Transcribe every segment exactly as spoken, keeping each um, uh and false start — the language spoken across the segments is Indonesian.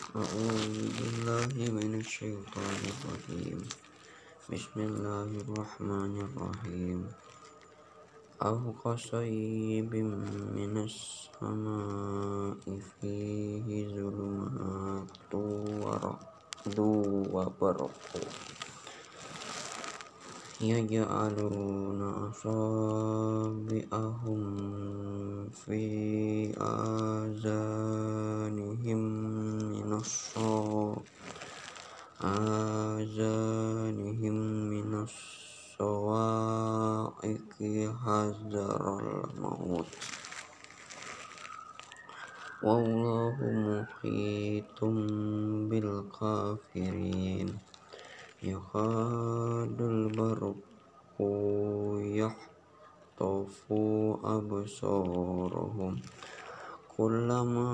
أعوذ بالله من الشيطان الرجيم بسم الله الرحمن الرحيم أو كصيب من السماء فيه ظلمات ورعد وبرق يجعلون أصابعهم في آذانهم من الصواعق آذانهم من الصواعق حذر الموت والله محيط بالكافرين يكاد البرق يخطف أبصارهم كلما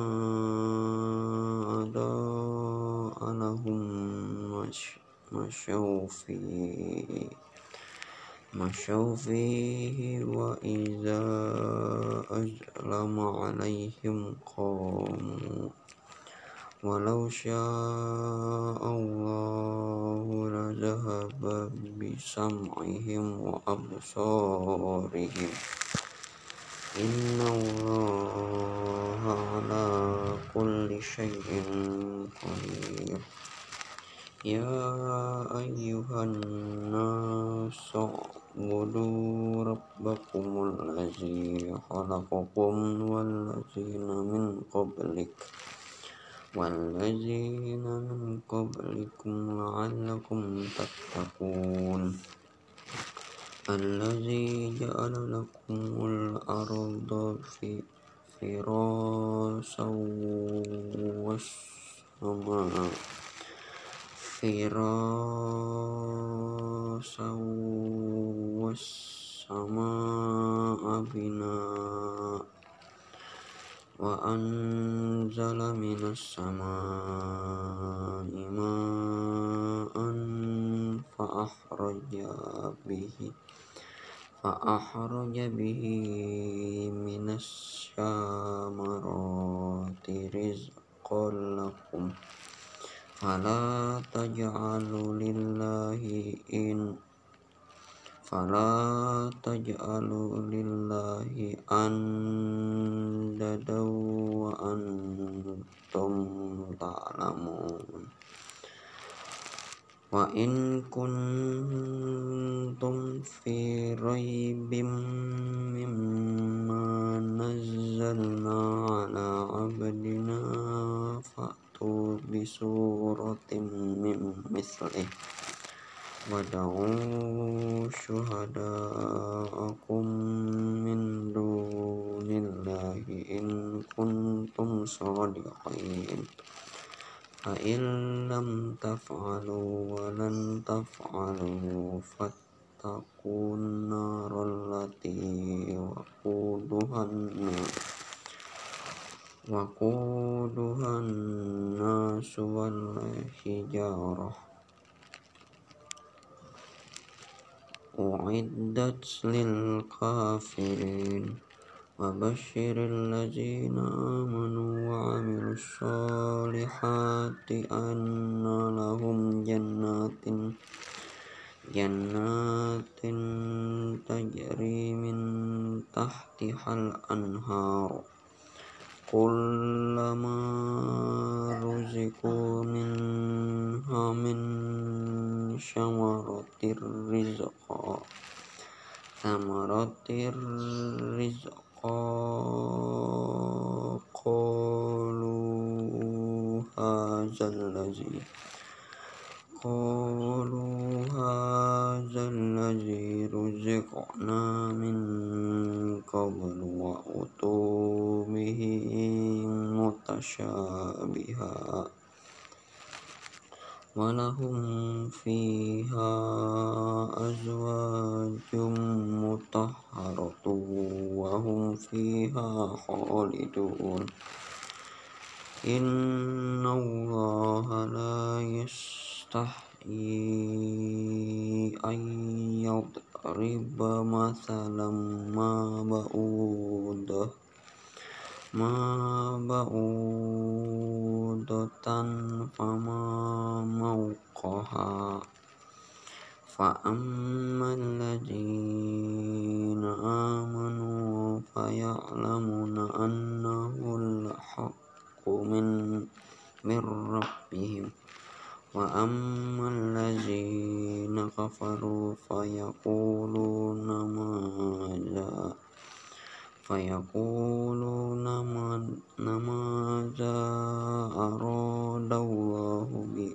أضاء لهم مشوا فيه مشوا فيه وإذا أظلم عليهم قاموا ولو شاء الله لذهب بسمعهم وأبصارهم إن الله على كل شيء قدير يا أيها الناس اعبدوا ربكم الذي خلقكم والذين من قبلكم والذين من قبلكم لعلكم تتقون الذي جعل لكم الأرض فراشا والسماء فراشا والسماء بناء وأنزل من السماء ماء فأخرج به فأخرج به من الثمرات رزقا لكم فلا تجعلوا لله إن فلا تجعلوا لله أندادا وأنتم تعلمون وإن كنتم في ريب مما نزلنا على عبدنا فأتوا بسورة من مثله وادعوا شهداءكم من دون الله إن كنتم صادقين فإن لم تفعلوا ولن تفعلوا فاتقوا النار التي وقودها الناس وقودها الناس والحجارة أعدت للكافرين وبشر الذين آمنوا وعملوا الصالحات أن لهم جنات جنات تجري من تحتها الأنهار كلما رزقوا منها من ثمرة الرزق ثمرة الرزق قالوا هذا الذي قالوا هذا الذي رزقنا من قبل وأتوا به متشابها ولهم فيها أزواج مطهرة وهم فيها خالدون إن الله لا يستحيي أن يضرب مثلا ما بعوضة ما بعوضة mawdatan fama mawqaha فأما الذين آمنوا فيعلمون أنه الحق من من ربهم وأما الذين كفروا فيقولون ماذا فيقولون ماذا أراد الله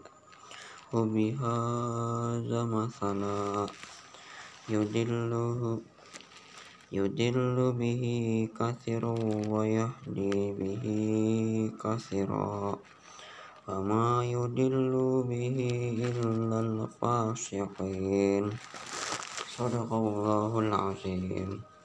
بهذا مثلا يضل يضل به كثيرا ويهدي به كثيرا وما يضل به إلا الفاسقين صدق الله العظيم.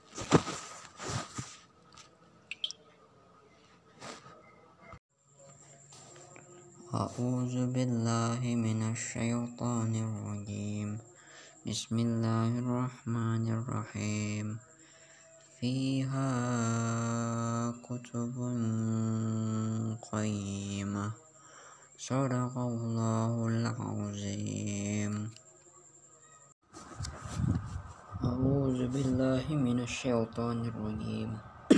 أعوذ بالله من الشيطان الرجيم بسم الله الرحمن الرحيم فيها كتب قيمة صدق الله العظيم. أعوذ بالله من الشيطان الرجيم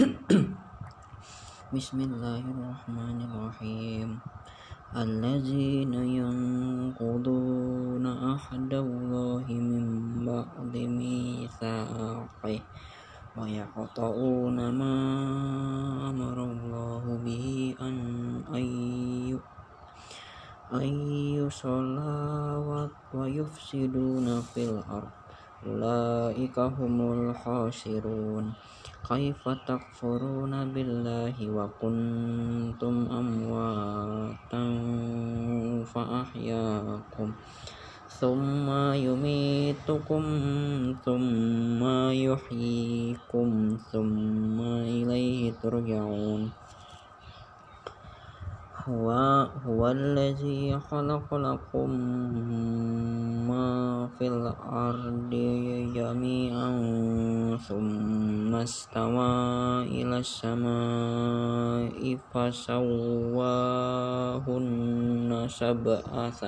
بسم الله الرحمن الرحيم الذين ينقضون عهد الله من بعد ميثاقه ويقطعون ما أمر الله به أن أن يصلى ويفسدون في الأرض أولئك هم الخاسرون كيف تكفرون بالله وكنتم أمواتا فأحياكم ثم يميتكم ثم يحييكم ثم إليه ترجعون هو, هو الذي خلق لكم ما في الأرض جميعا ثم استوى إلى السماء فسواهن سبع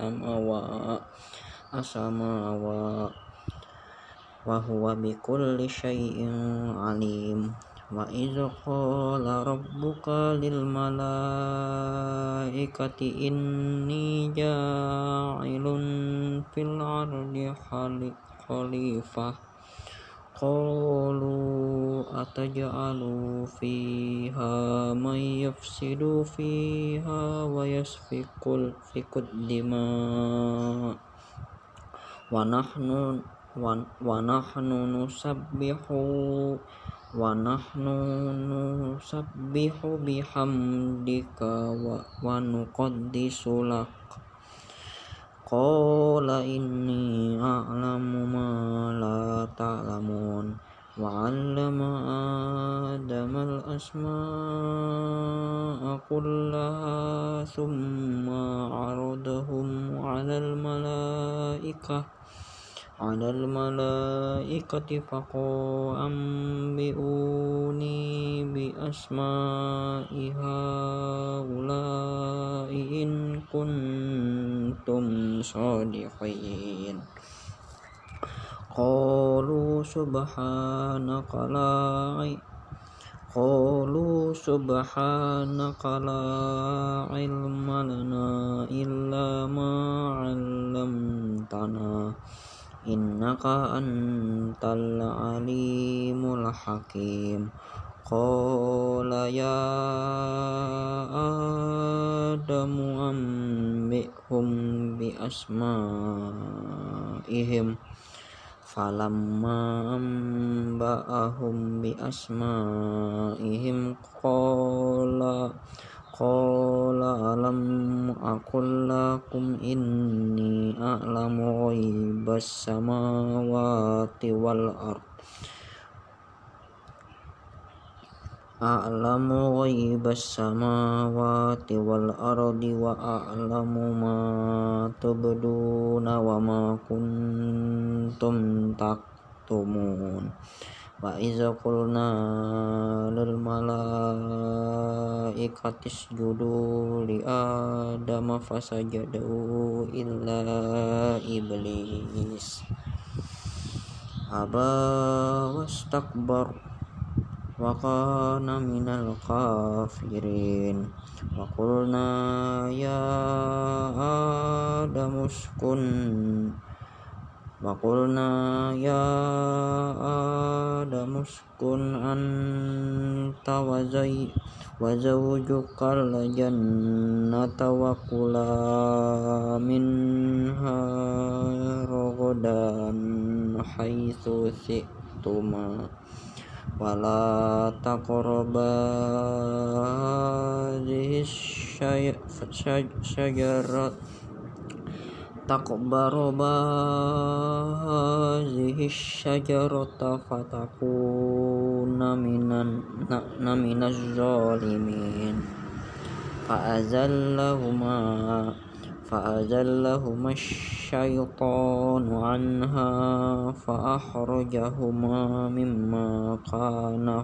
سماوات وهو بكل شيء عليم. وإذ قال ربك للملائكة إني جاعل في الأرض خليفة قالوا أتجعل فيها من يفسد فيها ويسفك الدماء ونحن ونحن نسبح ونحن نسبح بحمدك ونقدس لك قال إني أعلم ما لا تعلمون وعلم آدم الأسماء كلها ثم عرضهم على الملائكة على الملائكة فقال أنبئوني بأسماء هؤلاء إن كنتم صادقين قالوا سبحانك لا قالوا سبحانك لا علم لنا إلا ما علمتنا إنك أنت العليم الحكيم قال يا آدم أنبئهم بأسمائهم فلما أنبأهم بأسمائهم قال قال ألم أقل لكم إني أعلم غيب السماوات والأرض أعلم غيب السماوات والأرض وأعلم ما تبدون وما كنتم تكتمون wa iza qulna lil malaikati isjudu li adama fasajadu illa iblis aba wastakbar wa kana minal kafirin wa qulna ya adamu uskun wa qulna ya adamu uskun anta wa zai wa zawjukal jannata wa kula minha ragadan haitsu syi'tuma wala taqraba hadhihi syajarat taqbaroba hadhihi syajarata fatakuna minan na minaz zalimin fa'azallahuma fa'azallahuma syaitanu anha fa'akhrajahuma mimma kana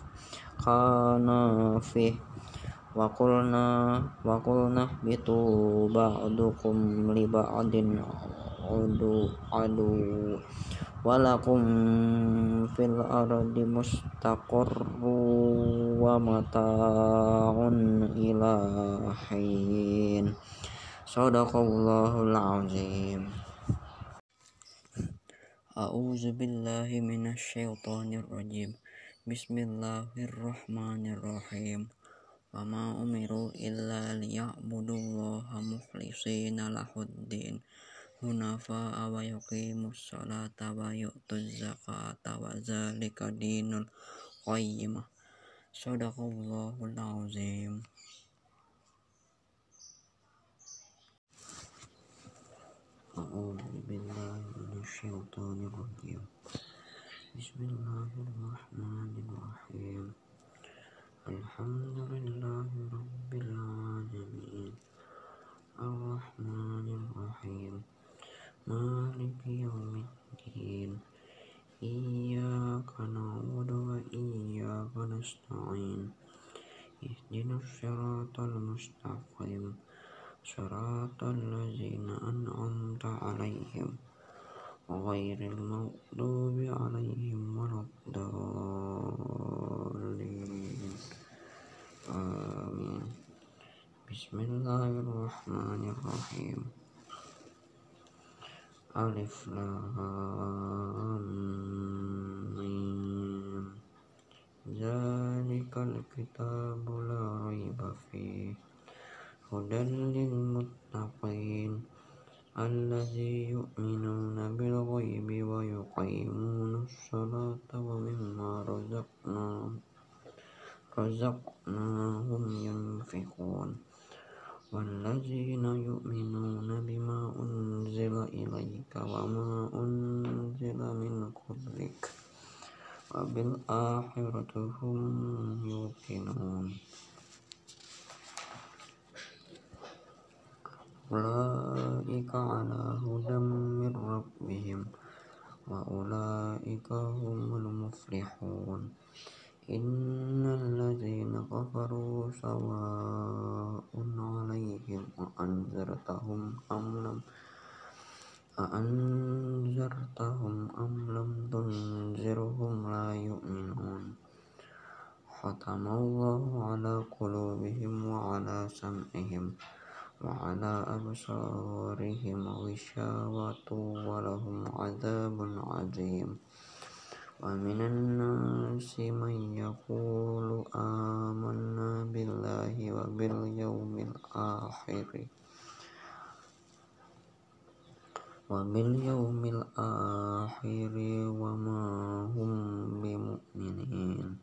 kana fih wa qulna wa qulna bitu ba'dukum li ba'din adu adu walakum fil ardi mustaqarru wa mata'un ila hin. Shadaqallahul azim. A'udzu billahi minasy syaithanir rajim. Bismillahirrahmanirrahim. Wa ma umiru illa liya'budullaha mukhlishina lahuddin hunafa wa yuqimus salata wa yu'tuz zakata wa dzalika dinul qayyimah. Shadaqallahul azim. A'udzu billahi minasy syaithanir rajim. Bismillahirrahmanirrahim. Alhamdulillahi rabbil alamin. Ar-Rahmanir Rahim. Maliki yaumiddin. Iyyaka na'budu wa iyyaka nasta'in. Ihdinas siratal mustaqim. Siratal ladzina an'amta 'alaihim ghairil maghdubi 'alaihim waladdallin. Amin. Bismillahirrahmanirrahim. Alif lam mim. Zalikal kitabu la raiba fihi hudan lil muttaqin allazi yu'minuna bil ghaibi wa yuqimunas salata wa mimma razaqnahum razaqnahum yunfiqun wallazina yu'minuna bima unzila ilaika wa ma unzila min qablik wa bil akhirati hum yuqinun. Ulaika ala hudam min rabbihim wa ulaika humul muflihun. Innal ladzina kafaru sawa'un 'alaihim a anzartahum am lam a anzartahum am lam tunzirhum la yu'minun. Khatamallahu ala qulubihim wa ala sam'ihim wa ala absarihim ghishawatu wa lahum 'adzabun 'adzim. Wa minan nasi man yaqulu amanna billahi wa bil yawmil akhir wa bil yawmil akhir wa ma hum bimu'minin.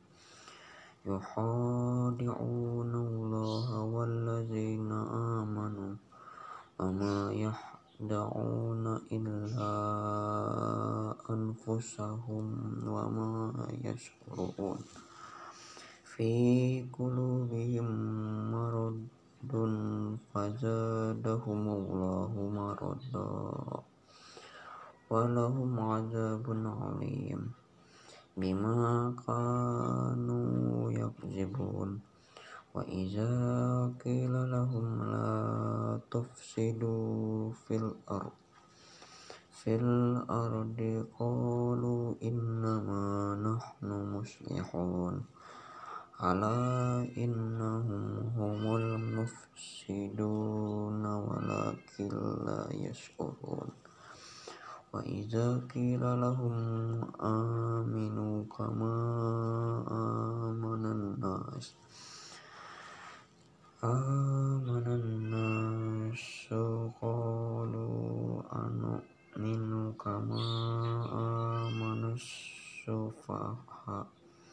Yukhadi'una Allaha wallazina amanu wa ma yahda'una illa anfusahum wa ma yash'urun. Fi qulubihim maradun fazadahumullahu marada wa lahum 'adzabun 'alim. bima kanu yakzibun. Wa iza qila lahum la tufsidu fil ard fil ardi qalu innama nahnu muslihun ala innahum humul mufsiduna walakin la yash'urun. Wa iza qila lahum aminu kama amanan nas amanan nasu qalu anu'minu kama amanus sufaha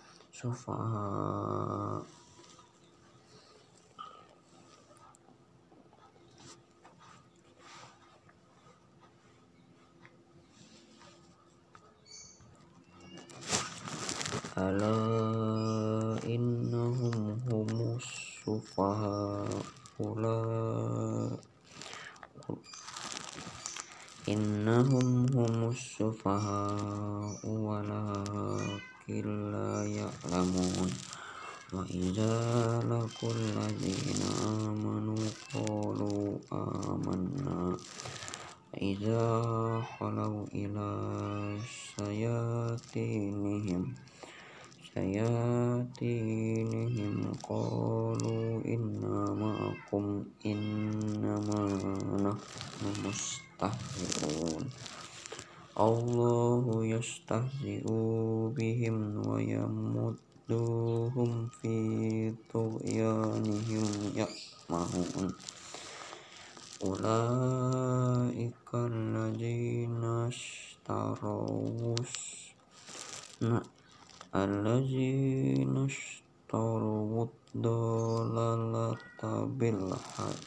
sufaha ala innahum humus sufaha ula innahum humus sufaha walakin la ya'lamun. Wa idza laqul ladzina amanu qalu amanna wa idza khalau ila sayatinihim sayatinihim qalu inna ma'akum innama nahnu mustahzi'un. Allahu yastahzi'u bihim wa yamudduhum fi tughyanihim ya'mahun. Ulaika alladzina ishtarawus na alladzina ishtarawud dalalata bil haq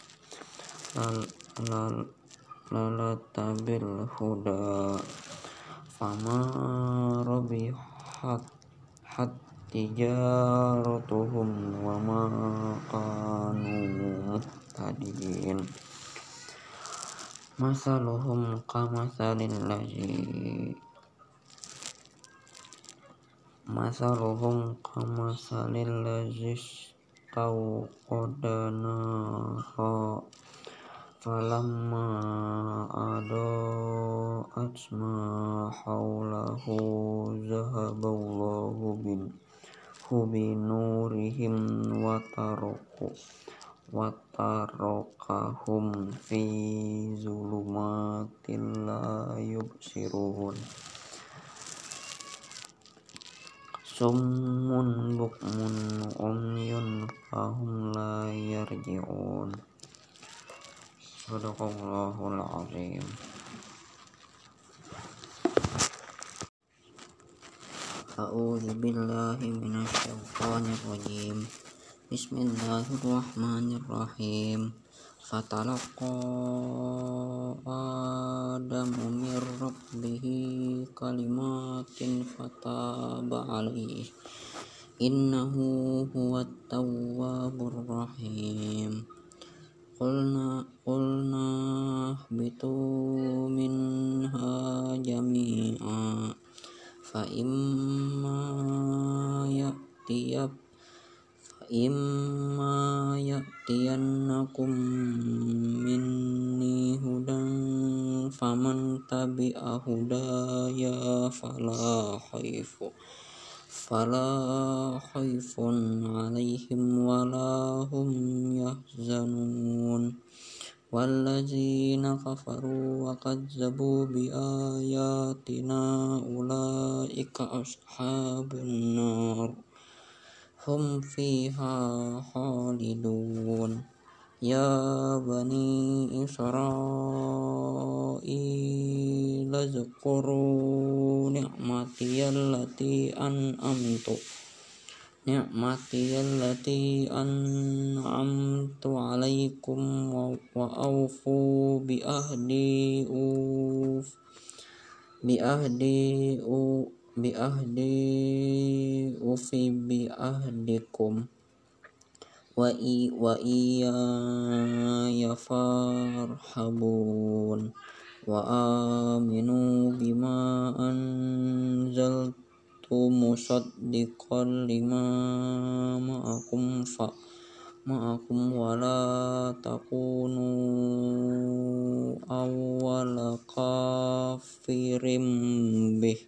lalata bil huda fama rabihat hat tijaratuhum wa ma kanu muhtadin. Masaluhum kamathalil ladzi Masaluhum kamathalil ladzi istawqada nara falamma adaa'at ma hawlahu zahaballahu bin binurihim wa taraku wa tarakahum fi zulumatin la yubsirun. Summun bukmun umyun fahum la yarji'un. Sadaqallahul azim. A'udzu billahi minasy syaithanir rajim. Bismillahirrahmanirrahim. Fatalaqa Adamu min rabbihi kalimatin fataba alaihi innahu huwat tawwabur rahim. Qulna qulna bitu minha jami'a fa imma ya'tiyab fa imma ya'tiyannakum minni hudan faman tabi'a hudaya fala khaifu fala khaifun alaihim wala hum yahzanun. Wallazina kafaru wa kazzabu bi ayatina ulaika ashabun nar hum fiha khalidun. Ya bani Israil zkuru ni'mati allati an'amtu ni'mati allati an'amtu alaikum wa, wa awfu bi ahdi uf bi ahdi u bi ahdi ufi bi ahdikum wa i wa iya yafarhabun wa aminu bima anzaltu musaddiqan lima ma'akum fa ma'akum wa la takunu awwala kafirim bih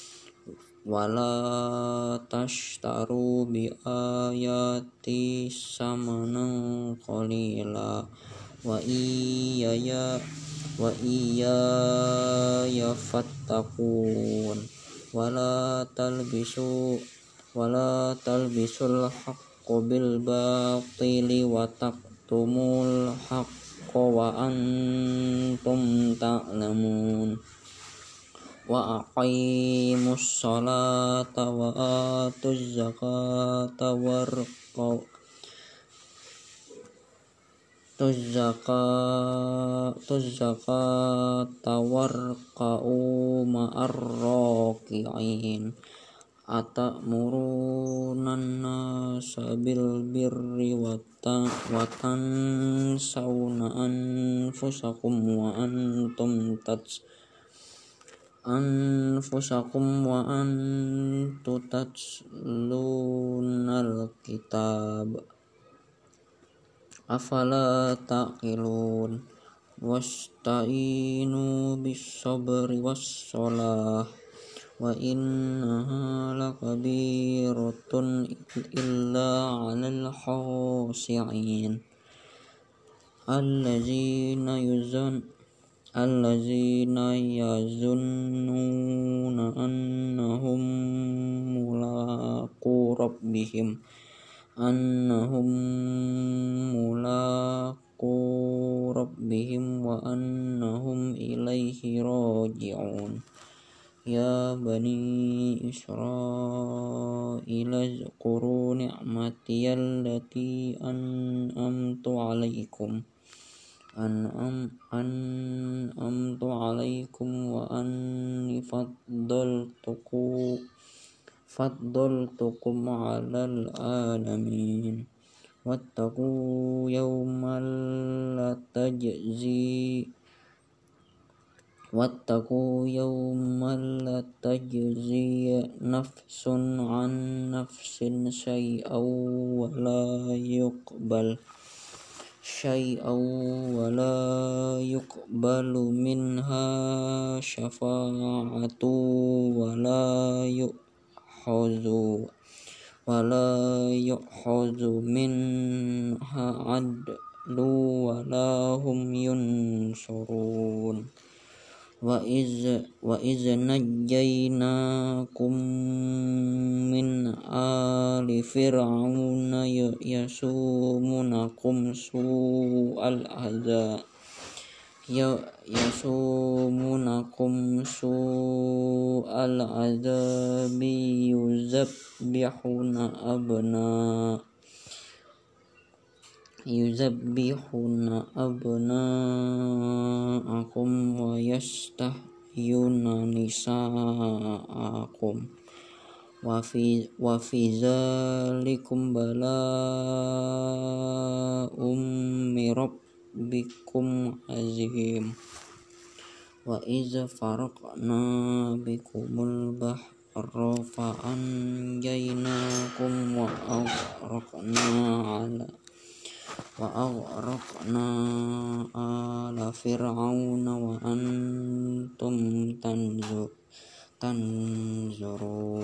wala tashtaru bi ayati samanan qalila wa iyaya wa iyaya fattaqun wala talbisu wala talbisul haqqo bil batili wa taktumul haqqo wa antum ta'lamun wa aqimus salata wa atuz zakata warqaw tuz zakata tuz zakata warqa'u ma'ar raki'in atamuruna nasa bil birri wa tansawna anfusakum wa antum tats anfusakum wa antum tatlunal kitab afala taqilun wasta'inu bis sabri was shalah wa innaha lakabiratun illa 'alal khashi'in allazina yuzan allazina yazunnuna annahum mulaqu rabbihim annahum mulaqu rabbihim wa annahum ilaihi raji'un ya bani Israila zkuru ni'mati allati an'amtu 'alaikum an'am an'amtu 'alaikum wa anni faddaltukum faddaltukum 'alal alamin wattaqu yawmal la tajzi wattaqu yawmal la tajzi nafsun 'an nafsin syai'aw wa la yuqbal syai'aw wa la yuqbalu minha syafa'atu wa la yu'khazu wa la yu'khazu minha 'adlu wa la hum yunsurun wa iz wa iz najjaynakum min ali fir'auna yasumunakum su'al azab ya yasumunakum su'al azabi yuzabbihuna abna yuzabbihuna abna'akum wa yastahyuna nisa'akum wa fi wa fi zalikum bala'um min rabbikum azim wa iz faraqna bikumul bahra fa anjaynakum wa aghraqna ala wa aghraqna ala fir'auna wa antum tanzu tanzurun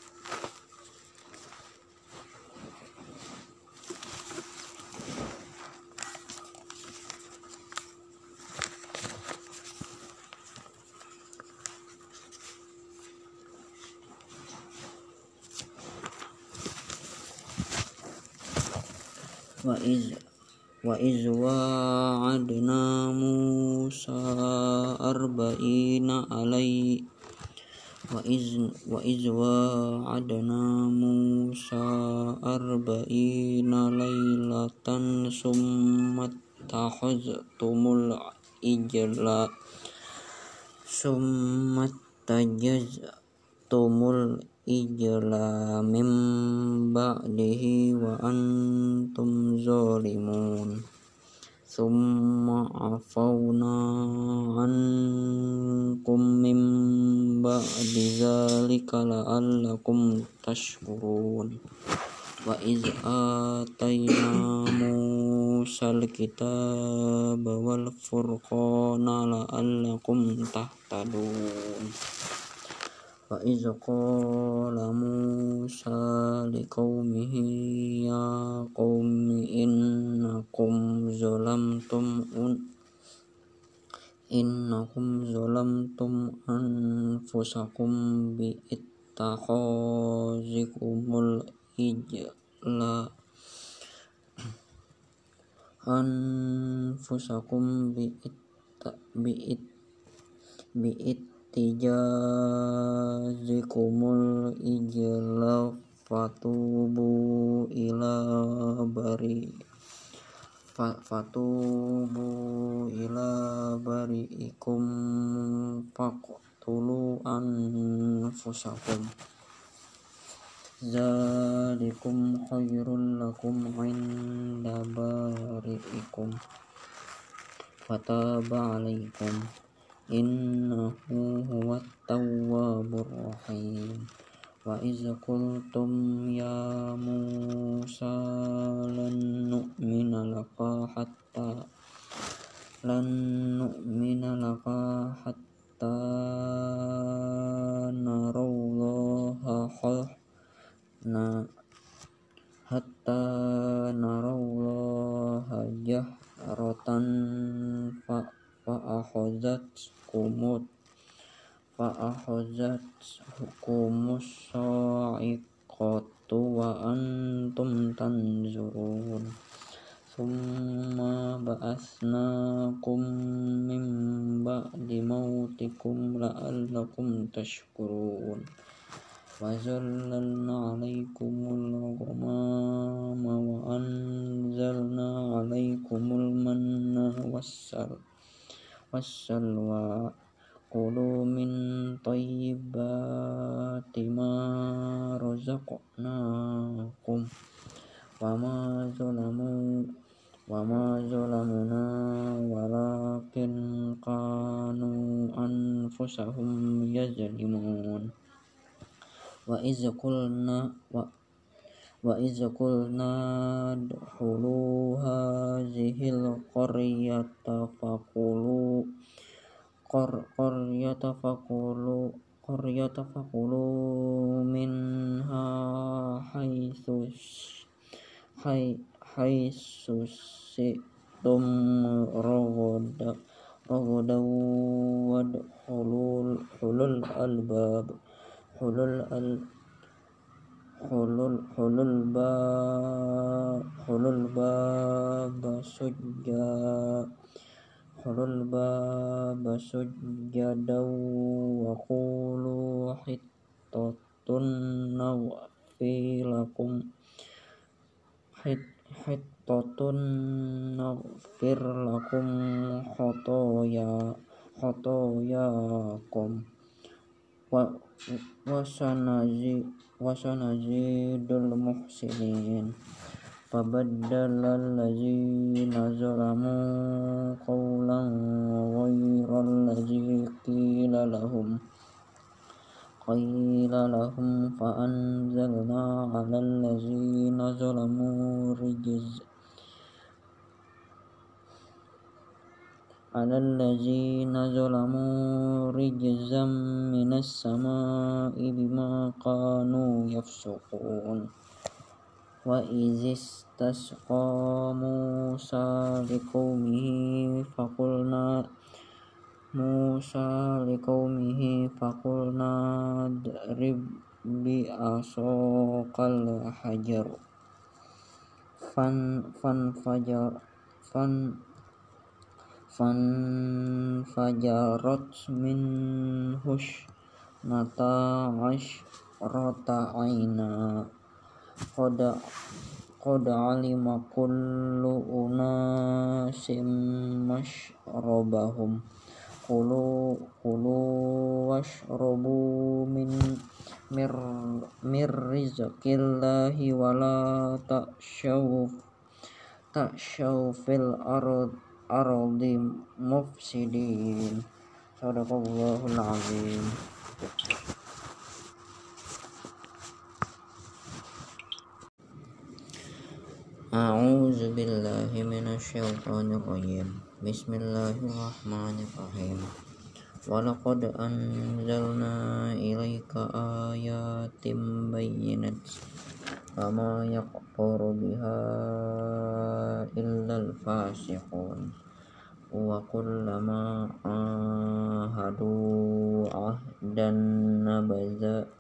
wa iz wa iz wa'adna Musa arba'ina alai wa iz wa iz wa'adna Musa arba'ina lailatan summa takhaztumul ijla summa tajaztumul ijla mim ba'dihi wa antum zalimun Summa afawna ankum min ba'di dzalika la'allakum tashkurun. Wa iz atayna Musal kitaba wal furqana la'allakum tahtadun. Wa iz qala Musa liqaumihi ya qaumi innakum zalamtum un innakum zalamtum anfusakum bi ittakhazikumul ijla anfusakum bi itta bi it bi ittijazikumul ijla fatubu ila bari fatubu ila bari'ikum faqtulu anfusakum zalikum khairul lakum inda bari'ikum fataba alaikum innahu huwat tawwabur rahim. Wa iz qultum ya Musa lan nu'mina laka hatta lan nu'mina laka hatta narallaha na hatta narallaha jahratan fa fa akhazat kumut fa akhazat hukumus sa'iqatu wa antum tanzurun. Summa ba'asnakum min ba'di mautikum la'allakum tashkurun. Wa zallalna 'alaikumul ghamama wa anzalna 'alaikumul manna wassal wassalwa qulu min thayyibati ma razaqnakum wa ma zalamu wa ma zalamuna walakin kanu anfusahum yazlimun. Wa iz qulna wa wa iz qulna dkhulu hazihil qaryata faqulu qar qaryata faqulu qaryata faqulu minha haitsu hay haitsu situm ragada ragada wadkhulul hulul albab hulul al hulul hulul ba hulul baba sujja hulul baba sujjada wa qulu hittatun naghfilakum hit hittatun naghfir lakum khotoya khotoyakum wa wasanazi wasanazidul muhsinin. Fabaddala allazina zalamu qawlan ghayral ladzi qila lahum qila lahum fa anzalna 'alal ladzina zalamu rijz 'alal ladzina zalamu rijzam minas sama'i bima kanu yafsuqun. Wa izis tasqa Musa liqaumihi faqulna Musa liqaumihi faqulna drib bi asaqal hajar fan fan fajar fan fan fajarat min hush nata ash rota aina Qada qada alima kullu unasim mashrabahum Qulu qulu washrabu min mir mir rizqillahi wala ta'shaw ta'syaw fil ard ardi mufsidin. Sadaqallahul azim. A'udzu billahi minasyaitonir rajim. Bismillahirrahmanirrahim. Walaqad anzalna ilaika ayatin bayyinatin fama yaqfuru biha illal fasiqun wa kullama ahadu ahdan nabaza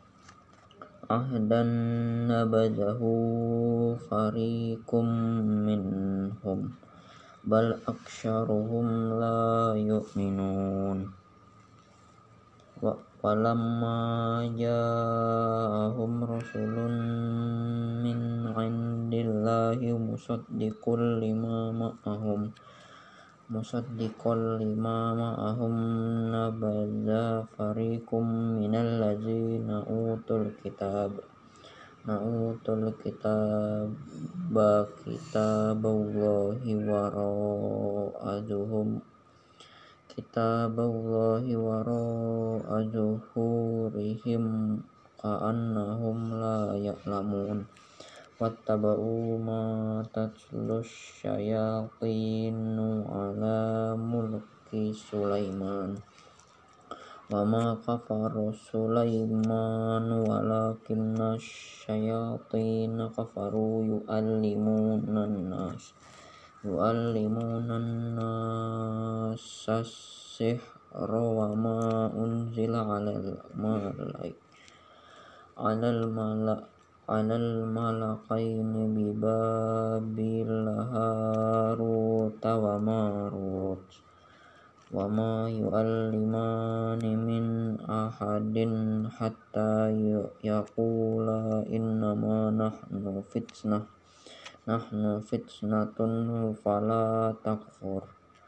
ahdan nabazahu fariqum minhum bal aktsaruhum la yu'minun. Wa walamma ja'ahum rasulun min 'indillahi musaddiqul lima ma'ahum musaddiqul lima ma'ahum nabadza fariqum minal ladzina utul kitab na'utul kitab ba kitaballahi wara'azuhum kitaballahi wara'azuhurihim ka'annahum la ya'lamun. Wattaba'u ma tatlus syayatinu ala mulki Sulaiman wa ma kafara Sulaiman walakinna syayatina kafaru yu'allimunan nas yu'allimunan nas as-sihra wa ma unzila 'alal malaik 'alal malak 'alal malakaini bi Babil Harut wa Marut wa ma yu'allimani min ahadin hatta yaqula innama nahnu fitnah nahnu fitnatun fala takfur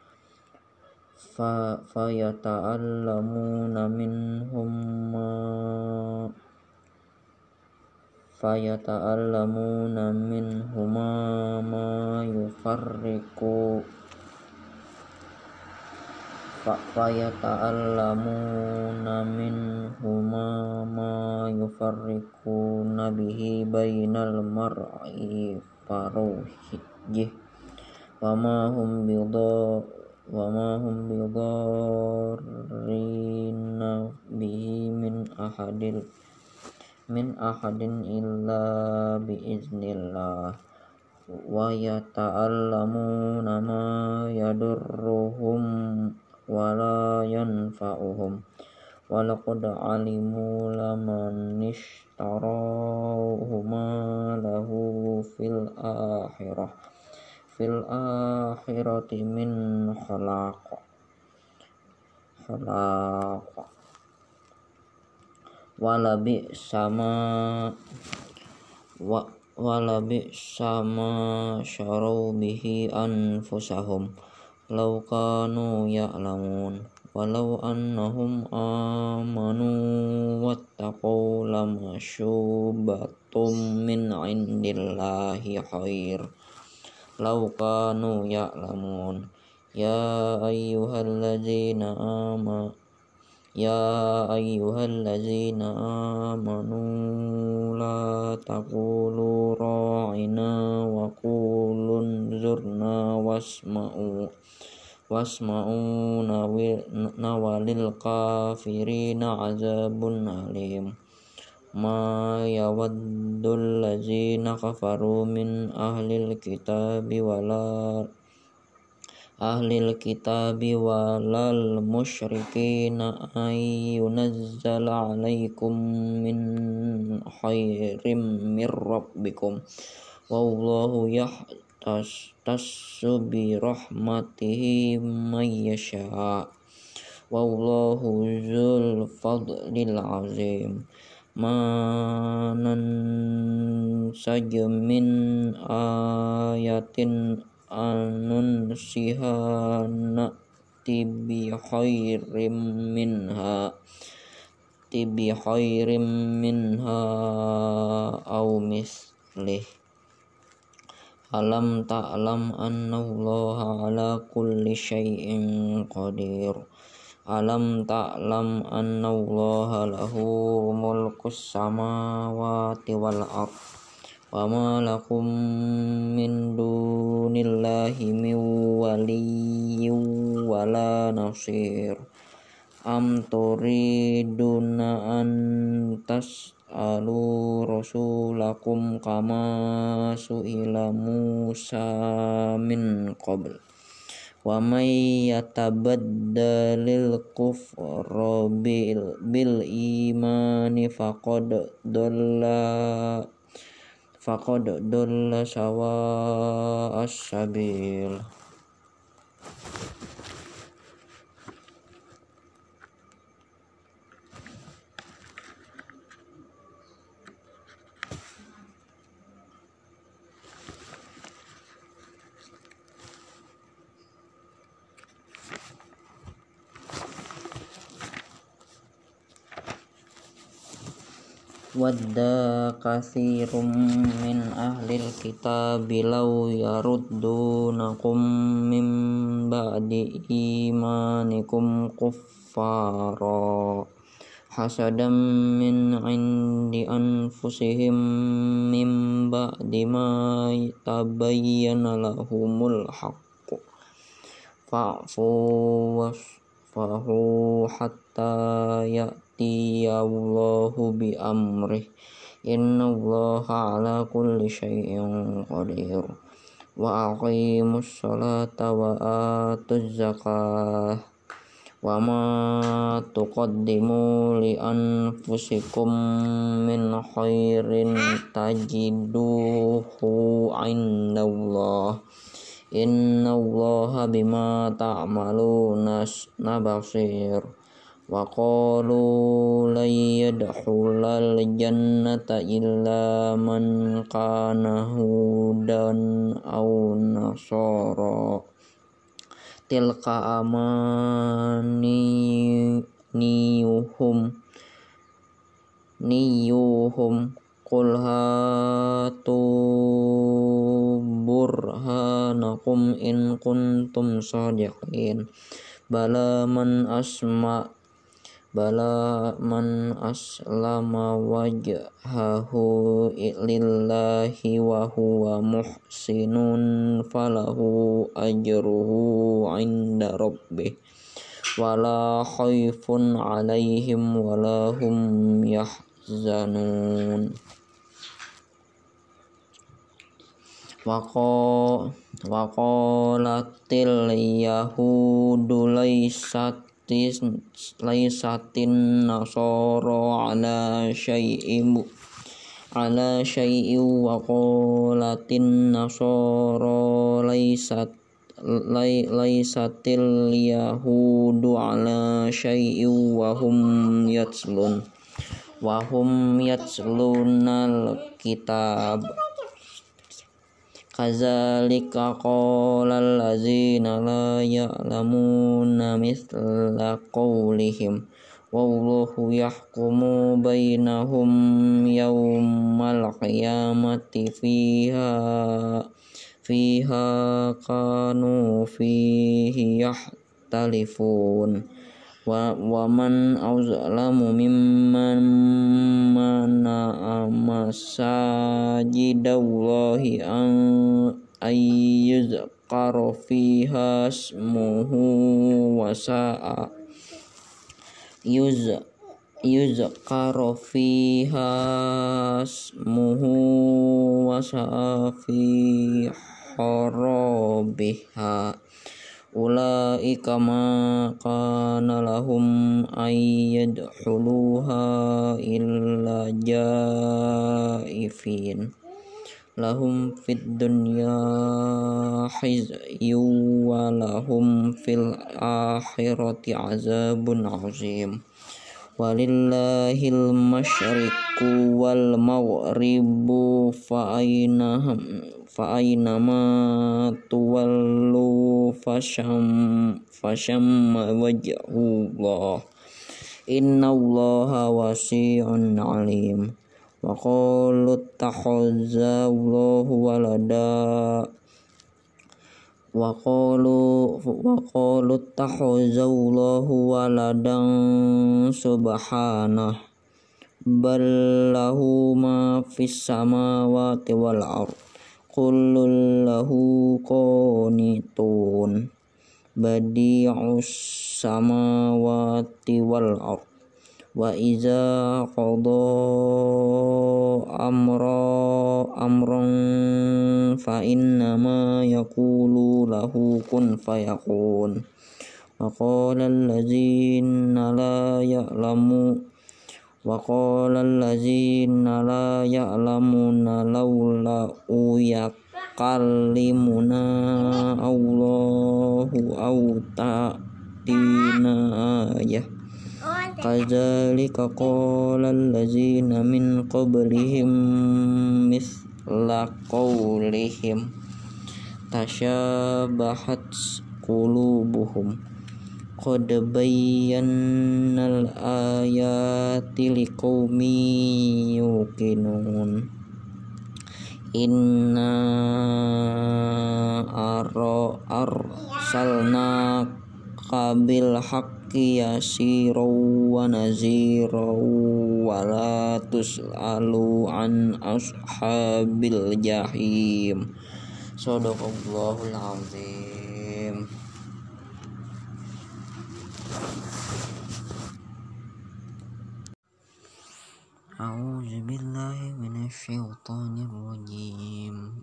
fa fayata'allamuna minhum ma fayata'allamuna minhuma ma yufarriqu fa fayata'allamuna minhuma ma yufarriquna bihi bainal mar'i faruhih wa ma hum bidha wa ma hum bidarrina bihi min ahadil min ahadin illa biiznillah wa yata'allamuna ma yadurruhum wa la yanfa'uhum wa laqad alimu laman ishtarahu ma lahu fil akhirah fil akhirati min khalaq khalaq wala bi sama wa wala bi sama syarau bihi anfusahum law kanu ya'lamun walau annahum amanu wattaqaw lamasyubatum min 'indillahi khair law kanu ya'lamun. Ya ayyuhalladzina amanu Ya ayyuhallazina amanu la taqulu ra'ina wa qulun zurna wasma'u wasma'u nawalil kafirina azabun alim. Ma yawaddul lazina kafaru min ahlil kitabi wala ahlil kitabi walal musyrikina ay yunazzala alaikum min khairim mir rabbikum wallahu yahtassu bi rahmatihi may yasha wallahu dzul fadlil azim. Ma nansaj min ayatin anun sihana tibi khairim minha tibi khairim minha au mislih Alam ta'lam annallaha ala kulli syai'in qadir. Alam ta'lam annallaha lahu mulkus samawati wal ard. Wa ma lakum min dunillahi min waliyyin wala nasir. Am turiduna an tas'alu rasulakum kama su'ila Musa min qabl. Wa may yatabaddalil kufra bil, bil imani faqad dalla faqad dalla sawa'as sabil. Wadda katsirum min ahlil kitabi law yaruddunakum min ba'di imanikum kuffara hasadam min indi anfusihim min ba'di ma tabayyana lahumul haqqu fa'fu wasfahu hatta ya Allahu bi amrih innallaha ala kulli syai'in qadir. Wa aqimus salata wa atuz zakah wa ma tuqaddimu li anfusikum min khairin tajiduhu indallah innallaha bima ta'maluna basir. Wa qalu lan yadkhulal jannata illa man kana hudan aw nasara tilka amani niyuhum niyuhum qul hatu burhanakum in kuntum shadiqin. Bala man asma Bala man aslama wajhahu lillahi wa huwa muhsinun falahu ajruhu inda rabbih wala khaifun alaihim wala hum yahzanun. Waqalatil yahudu laysat laisatin nasara ala syai'in ala syai'in wa qalatin nasara laisat laisatil yahudu ala syai'in wa hum yatslun wa hum yatslunal kitab. Kadzalika qalal ladzina la ya'lamuna mithla qawlihim wallahu yahkumu bainahum yawmal qiyamati fiha fiha kanu fihi yahtalifun. Wa, wa man azlamu mimman mana'a masajidallahi an ayyuzqara fiha ismuhu wa sa'a yuz yuzqara fiha ismuhu wa sa'a fi harabiha. Ulaika ma kana lahum ayyadkhuluha illa jaifin lahum fid dunya khizyun wa lahum fil akhirati azabun azim. Walillahil masyriqu wal maghribu fa aynahum fa aynama tuwallu fasham fashamma wajhullah innallaha wasi'un alim. wa qalu ittakhadallahu walada wa qalu wa qalu ittakhadallahu waladan subhanah bal lahu ma fis samawati wal ard kullun lahu qanitun badi'us samawati wal ard wa iza qada amra amran fa innama yaqulu lahu kun fayakun wa qala allazina la ya'lamu wa qala allazina la ya'lamuna laula yakallimuna Allahu aw ta'tina ayah kadzalika qala allazina min qablihim mithla qawlihim tashabahat qulubuhum qad bayyana al-ayati liqaumin yuqinun inna arsalna qabil haqqi yasiru wa naziru wa la tus'alu an ashabil jahim. Shadaqallahul azim. A'udzu billahi minasy syaithanir rajim.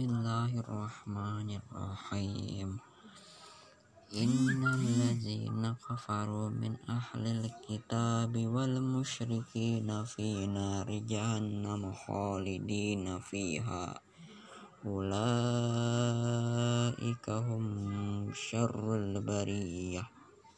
Bismillahirrahmanirrahim. Innal ladzina kafaru min ahlil kitabi wal musyrikina fi nari jahannam khalidina fiha ulaika hum syarrul bariyah.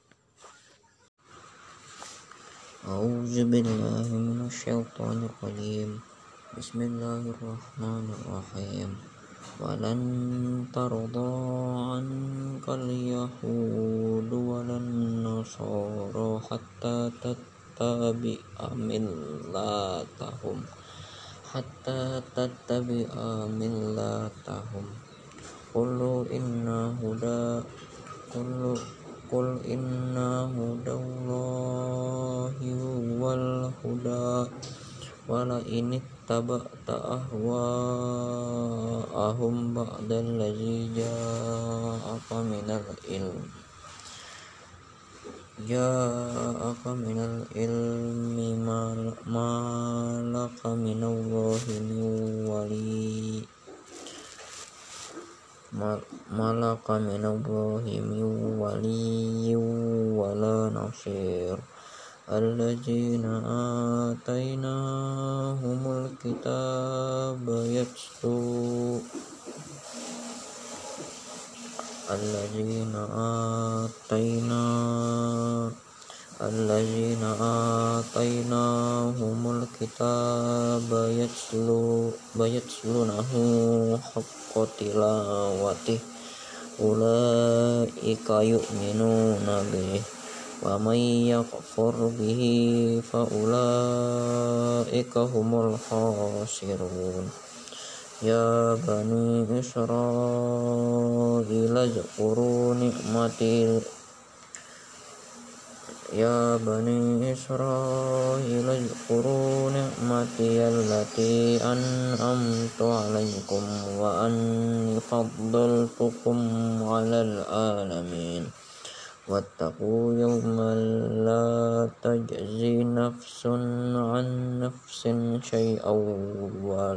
A'udzu billahi minasy syaithanir rajim. Bismillahirrahmanirrahim. Walan tarda ankal yahudu walan nasara hatta tattabi'a millatahum hatta tattabi'a millatahum qul inna huda qul qul inna hudallahi wal huda wala in taba'ta ahwa'ahum ba'dal ladzi ja'aka minal ilm ja'aka minal ilmi malaka minallahi min wali malaka minallahi min wali wala nasir. Alladzina atainahumul kitaba yatlu Alladzina ataina Alladzina atainahumul kitaba yatlu bayatlunahu haqqa tilawatih ulaika yu'minuna bihi wa may yakfur bihi fa ulaika humul khasirun. Ya bani Israil zkuru ni'mati Ya bani Israil zkuru ni'mati allati an'amtu alaikum wa anni faddaltukum 'alal alamin. Wattaqu yawman la tajzi nafsun an nafsin syai'aw wa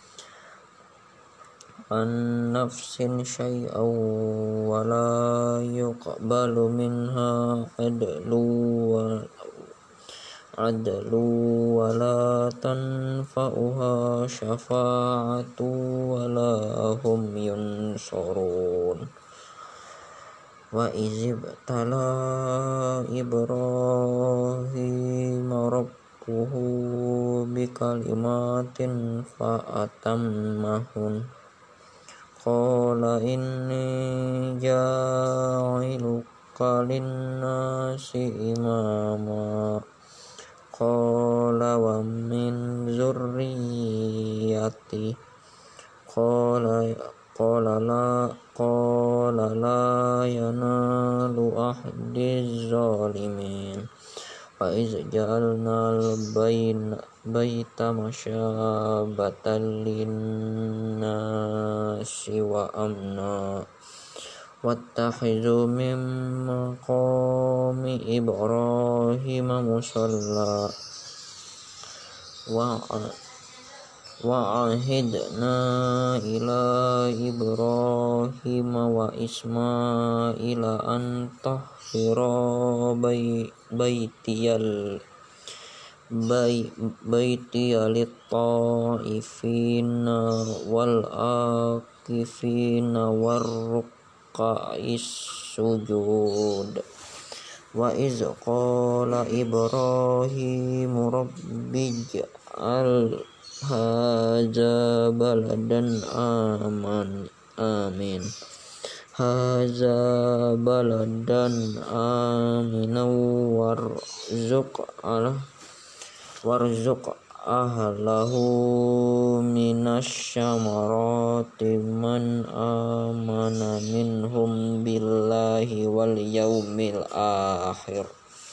an nafsin syai'aw wa la yuqbalu minha adlu wa adlu wa la tanfa'uha syafa'atu wa la hum yunsurun. Wa izibtala Ibrahim rabbuhu bikalimatin fa'atammahun qala inni ja'iluka linnasi imama qala wa min zurriyyati qala qala la qala la yanalu ahdiz zalimin wa iz ja'alna al-baita masyabatan lin-nasi wa amna wattakhizu min maqami Ibrahim musalla wa wa'ahidna ila Ibrahim wa Ismaila an tahhira baitiyal baitiyal ta'ifina wal akifina war ruk'is sujud wa iz qala Ibrahim rabbij'al haza baladan aman amin haza baladan aminan warzuq ala warzuq ahlahu minasyamarati man amana minhum billahi wal yaumil akhir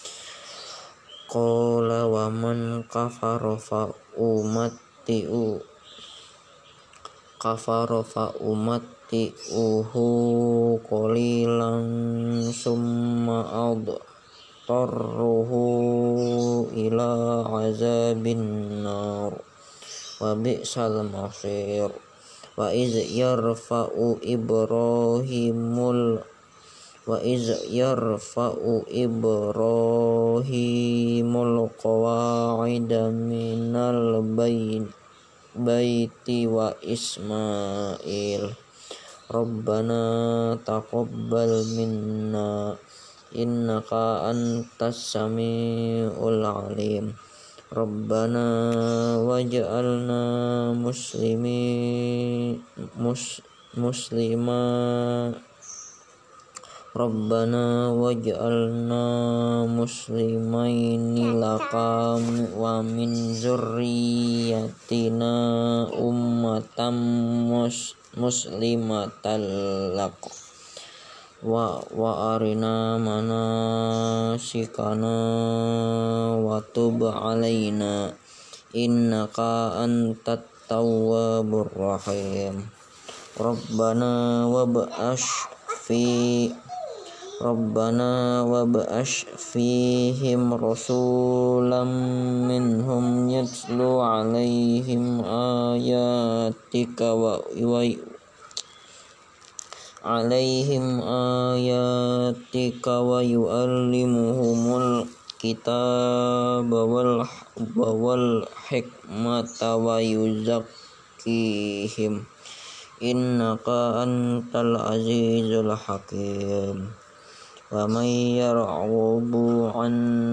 qala wa man kafara fa umatti'u kafara fa umatti'uhu qalilan summa adtarruhu ila azabin nar wa bi'sal masir wa iz yarfa'u ibrahimul wa iz yarfa'u ibrahimul qawa'ida minal baiti wa ismail rabbana taqabbal minna innaka antas samiul alim rabbana waj'alna muslimi mus, muslima Rabbana waj'alna muslimaini laka wa min zurriyyatina ummatan mus, muslimatan lak wa wa arina manasikana wa tub alaina innaka antat tawwabur rahim Rabbana wab'ash fi Rabbana wab'ash fihim rasulam minhum yatlu alaihim ayatika wa alaihim ayatika wa yu'allimuhumul kitaba wal wal hikmata wa yuzakkihim innaka antal azizul hakim wa may yarghabu an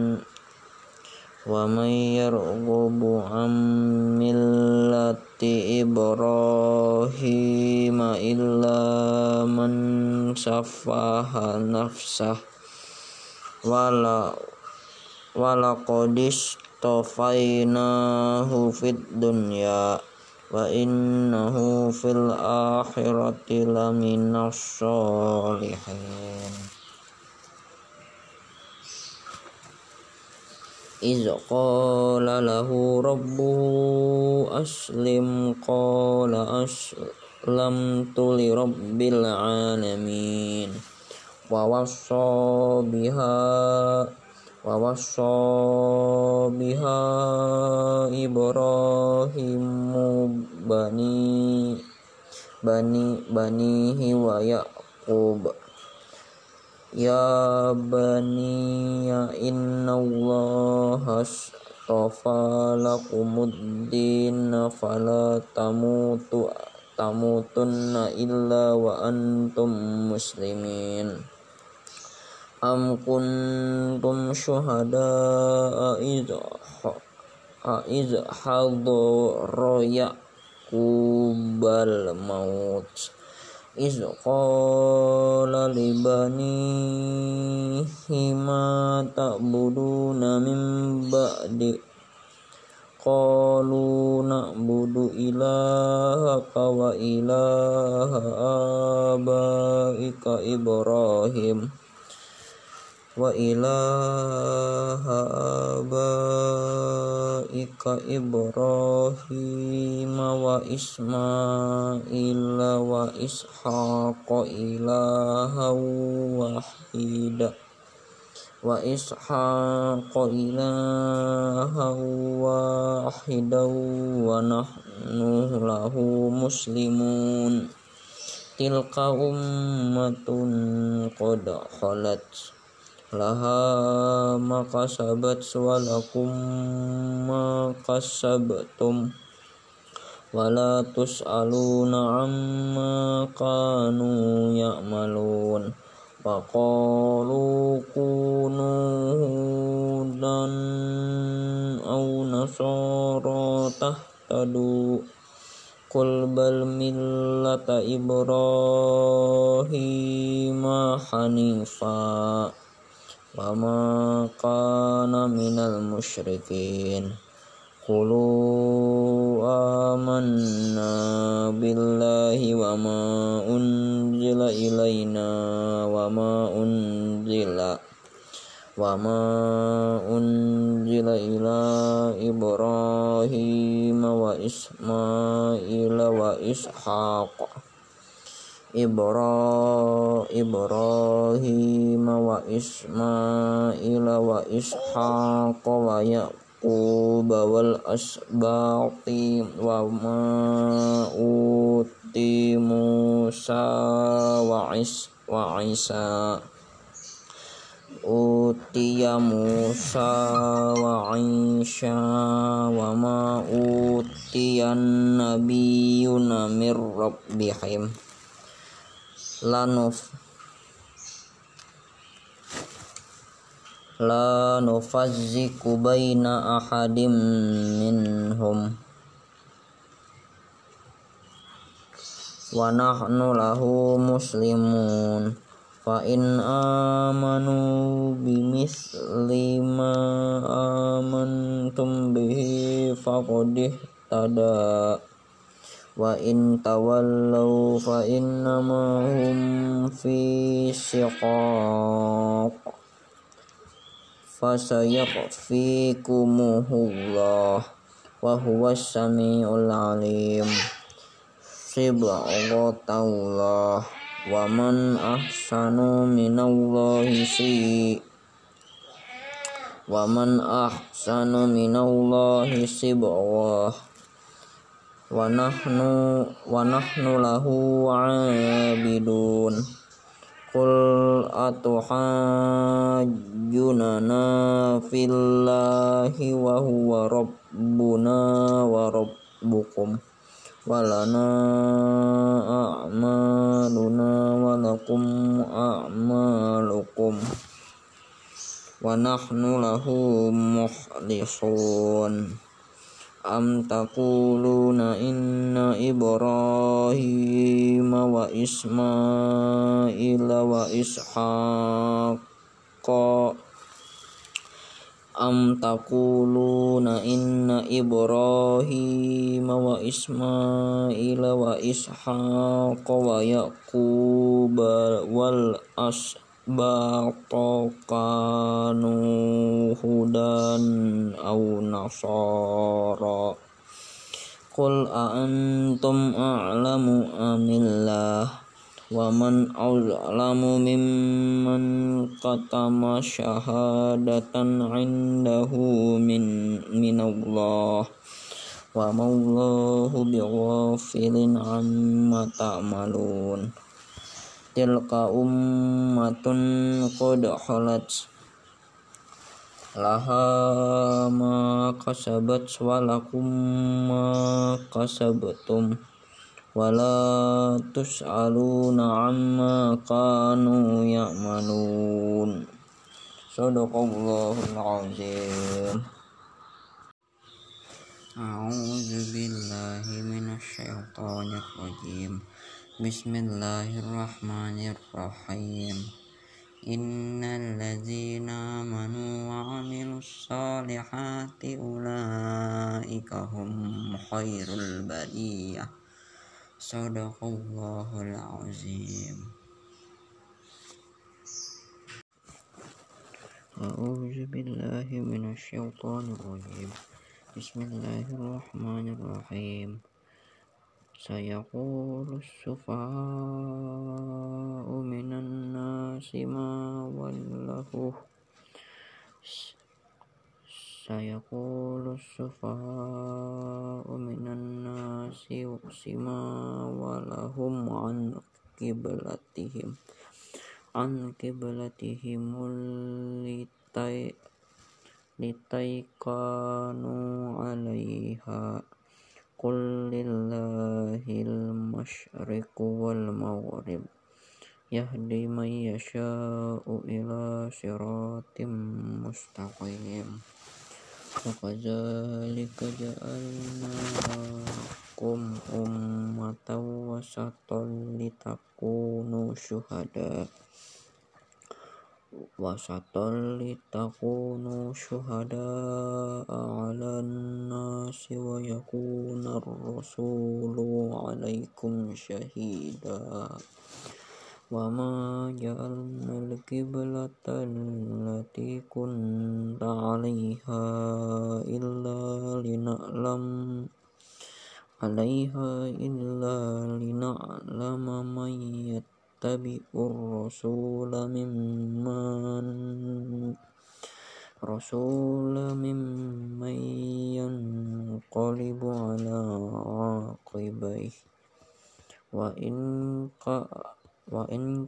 wa may yarghabu an millati Ibrahim illa man safaha nafsah wala wala qadis tafainahu fid dunya wa innahu fil akhirati laminas sholihin iz qala lahu rabbuhu aslim qala aslamtu li rabbil alamin wa wassa biha wa wassa biha Ibrahimu bani bani banihi wa Yaqub ya bani ya inna allaha astafa lakumuddin fala tamutu tamutunna illa wa antum muslimin am kuntum syuhada'a idza idza hadara yaqubal maut iz qala libanihi ma ta'buduna min ba'di qalu na'budu ilahaka wa ilaha abaika Ibrahim wa ilaha abaika Ibrahim wa Ismail wa Ishaq ilaha wahida wa Ishaq ilaha wahida wa nahnu lahu muslimun tilka ummatun qad khalat laha ma kasabat wa lakum ma kasabtum wala tus'aluna amma kanu ya'malun wa qalu kunu hudan aw nasara tahtadu qul bal millata Ibrahima hanifa wa ma kana minal musyrikin qulu amanna billahi wa ma unzila ilaina wa ma unzila wa ma unzila ila Ibrahim wa Ismail wa Ishaq Ibra Ibrahim wa Ismail wa Ishaq wa Yaqub wal asbaqi wa ma uti Musa wa Is wa Isa utiya Musa wa Isa wa ma utiyan nabiyyuna mir rabbihim lanuf la nufazziku baina ahadim minhum wa nahnu lahu muslimun fa in amanu bimithli ma amantum bihi faqad ihtada wa in tawallaw fa innama hum fi shiqaq fasayakfikumuhullah wa huwas samiul alim sibghatallah wa man ahsanu minallahi si wa man ahsanu minallahi sibghah wa nahnu wa nahnu lahu abidun qul atuhajjunana fillahi wa huwa rabbuna wa rabbukum walana a'maluna wa lakum a'malukum wa nahnu lahu mukhlisun am taquluna inna Ibrahima wa Ismaila wa Ishaqqa am taquluna inna Ibrahima wa Ismaila wa Ishaqqa wa Yaquba wal asbaqta kanu hudan aw nasara qul a antum a'lamu amillah wa man azlamu mimman qatama syahadatan indahu min minallah wa mawallahu bighafilin amma ta'malun tilka ummatun qad khalat laha ma kasabat wa lakum ma kasabtum wala tus'aluna amma kanu ya'malun. Shadaqallahul azim. A'udzu billahi minasyaitonir rajim. Bismillahirrahmanirrahim. Innal ladzina amanu wa 'amilus solihati ulaika hum khairul bariyah. Shadaqallahul azim. A'udzu billahi minasy syaithanir rajim. Bismillahirrahmanirrahim. Sayaqulus sufaha'u minan nasi ma wallahu Sayaqulus sufaha'u minan nasi ma walahum an qiblatihim an qiblatihim litai litai kanu 'alaiha Qul lillahil masyriqu wal maghrib yahdi man yasha'u ila siratim mustaqim. Wa kadzalika ja'alnakum ummatan wasatan litakunu syuhada wasatan litakunu syuhada 'alan nasi wa yakunar rasulu 'alaikum syahida. Wa ma ja'alnal qiblata allati kunta 'alaiha illa lina'lam 'alaiha illa lina'lama man yattabi'ur rasula mimman rasula mimman yanqalibu 'ala 'aqibaihi wa in ka wa in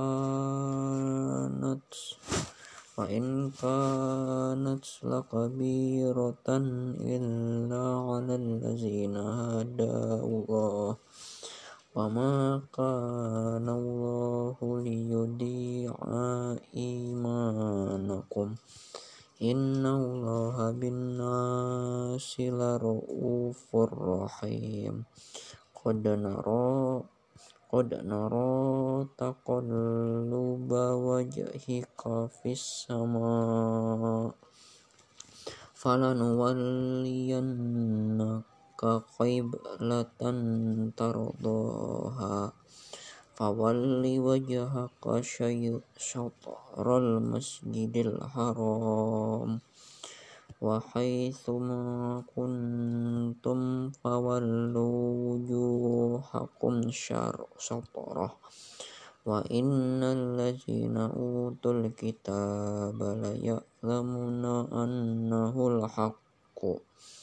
kanat wa in kanat lakabiratan illa 'alal ladzina hadallah wa ma kana Allahu liyudi'a imanakum innallaha bin-nasi lara'ufur rahim. Qad nara qad nara taqalluba wajhika fis sama falanuwalliyannaka qiblatan tardaha fawalli wajhaka syatral masjidil haram wa haitsu ma kuntum fawallu wujuhakum syatrah wa innal ladzina utul kitaba la ya'lamuna annahul haqqu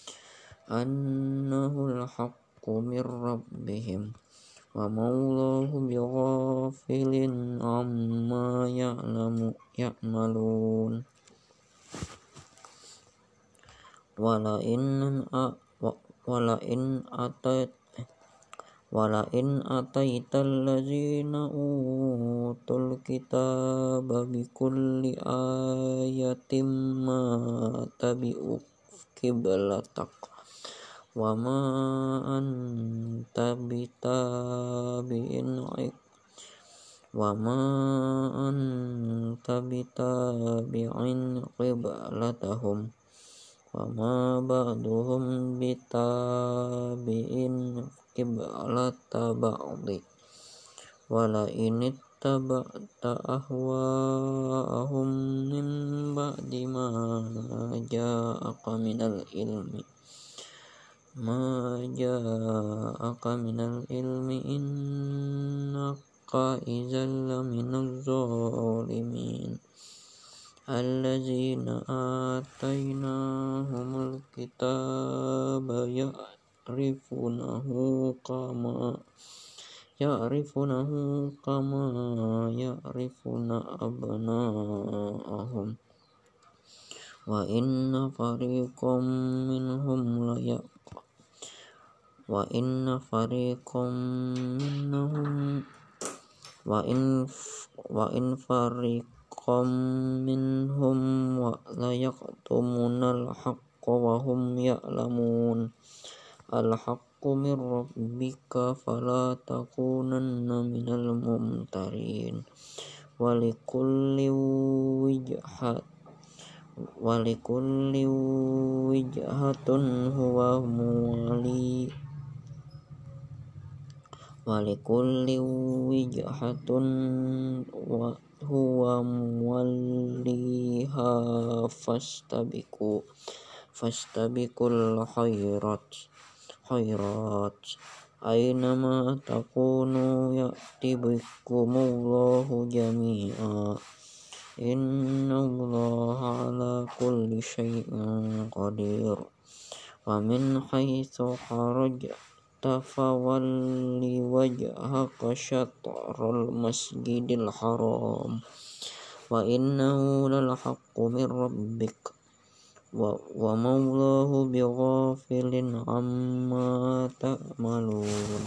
annahul haqqu mir rabbihim wa ma'allahu bighafilin amma ya'lamu ya'malun. Wala in a wala in atat wala in ataital ladzina utul kitaba bikulli ayatin ma tabi'u qiblatak wa ma anta bitabi'in wa ma anta bitabi'in qiblatahum wa ma ba'duhum bitabi'in qiblata ba'di wala in ittaba'ta ahwa'ahum min ba'di ma ja'aka minal ilmi ma ja'aka minal ilmi innaka idzal laminaz zalimin. Alladzina atainahumul kitaba ya'rifunahu kama ya'rifunahu kama ya'rifuna abna'ahum wa inna fariqam minhum la ya wa inna fariqam minhum wa in wa in fariqam minhum wa la yaqtumunal haqqa wa hum ya'lamun. Al-haqqa من ربك فلا تكونن من الممترين ولكل وجهة ولكل وجهة هو مولي ولكل وجهة هو موليها فاستبقوا فاستبقوا الخيرات خيرات أينما تكونوا يأتي بكم الله جميعا إن الله على كل شيء قدير ومن حيث خرجت فول وجهك شطر المسجد الحرام وإنه للحق من ربك وما الله بغافل عما تعملون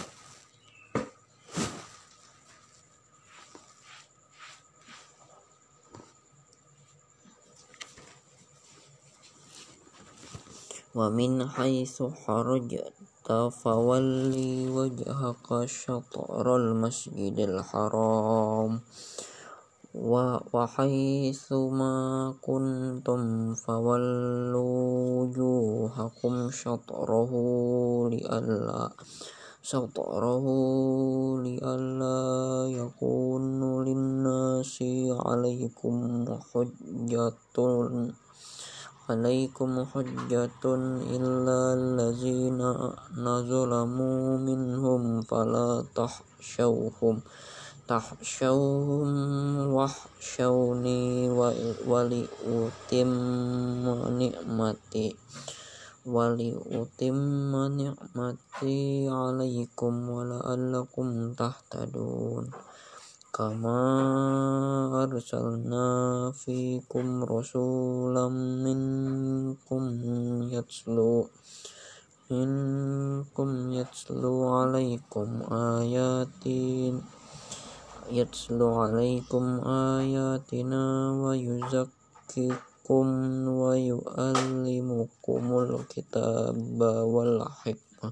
ومن حيث خرجت فول وجهك شطر المسجد الحرام وحيث ما كنتم فولوا وجوهكم شطره لئلا شطره لئلا يكون للناس عليكم حجة عليكم حجة إلا الذين ظلموا منهم فلا تخشوهم تخشوهم واخشوني ولأتم نعمتي ولأتم نعمتي عليكم ولعلكم تهتدون كما أرسلنا فيكم رسولا منكم يتلو منكم يتلو عليكم آياتنا يتلو عليكم آياتنا ويزكيكم ويعلمكم الكتاب والحكمة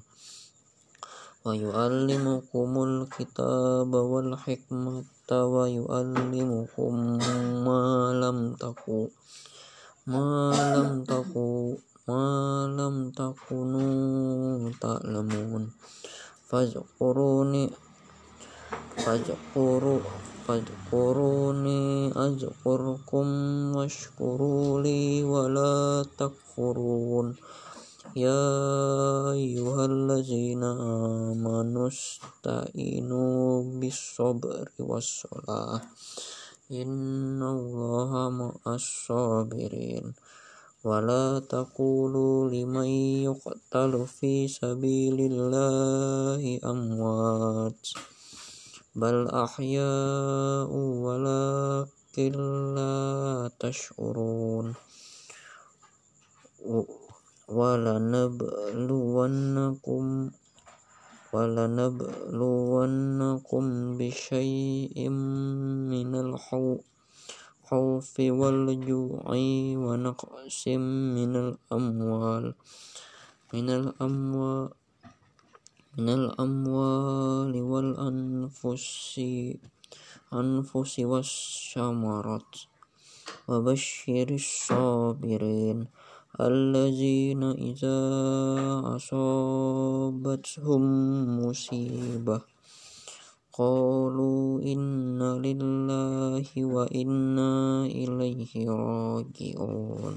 ويعلمكم الكتاب والحكمة ويعلمكم ما لم تكونوا ما لم تكونوا ما لم تكونوا تعلمون فاذكروني فاذكروا فاذكروني أذكركم واشكروا لي ولا تكفرون يا أيها الذين آمنوا استعينوا بالصبر والصلاة إن الله مع الصابرين ولا تقولوا لمن يقتل في سبيل الله أموات بل أحياء ولكن لا تشعرون ولنبلونكم ولنبلونكم بشيء من الخوف والجوع ونقص من الأموال من الأموال من الأموال والأنفس أنفس والثمرات وبشر الصابرين الذين إذا أصابتهم مصيبة قالوا إنا لله وإنا إليه راجعون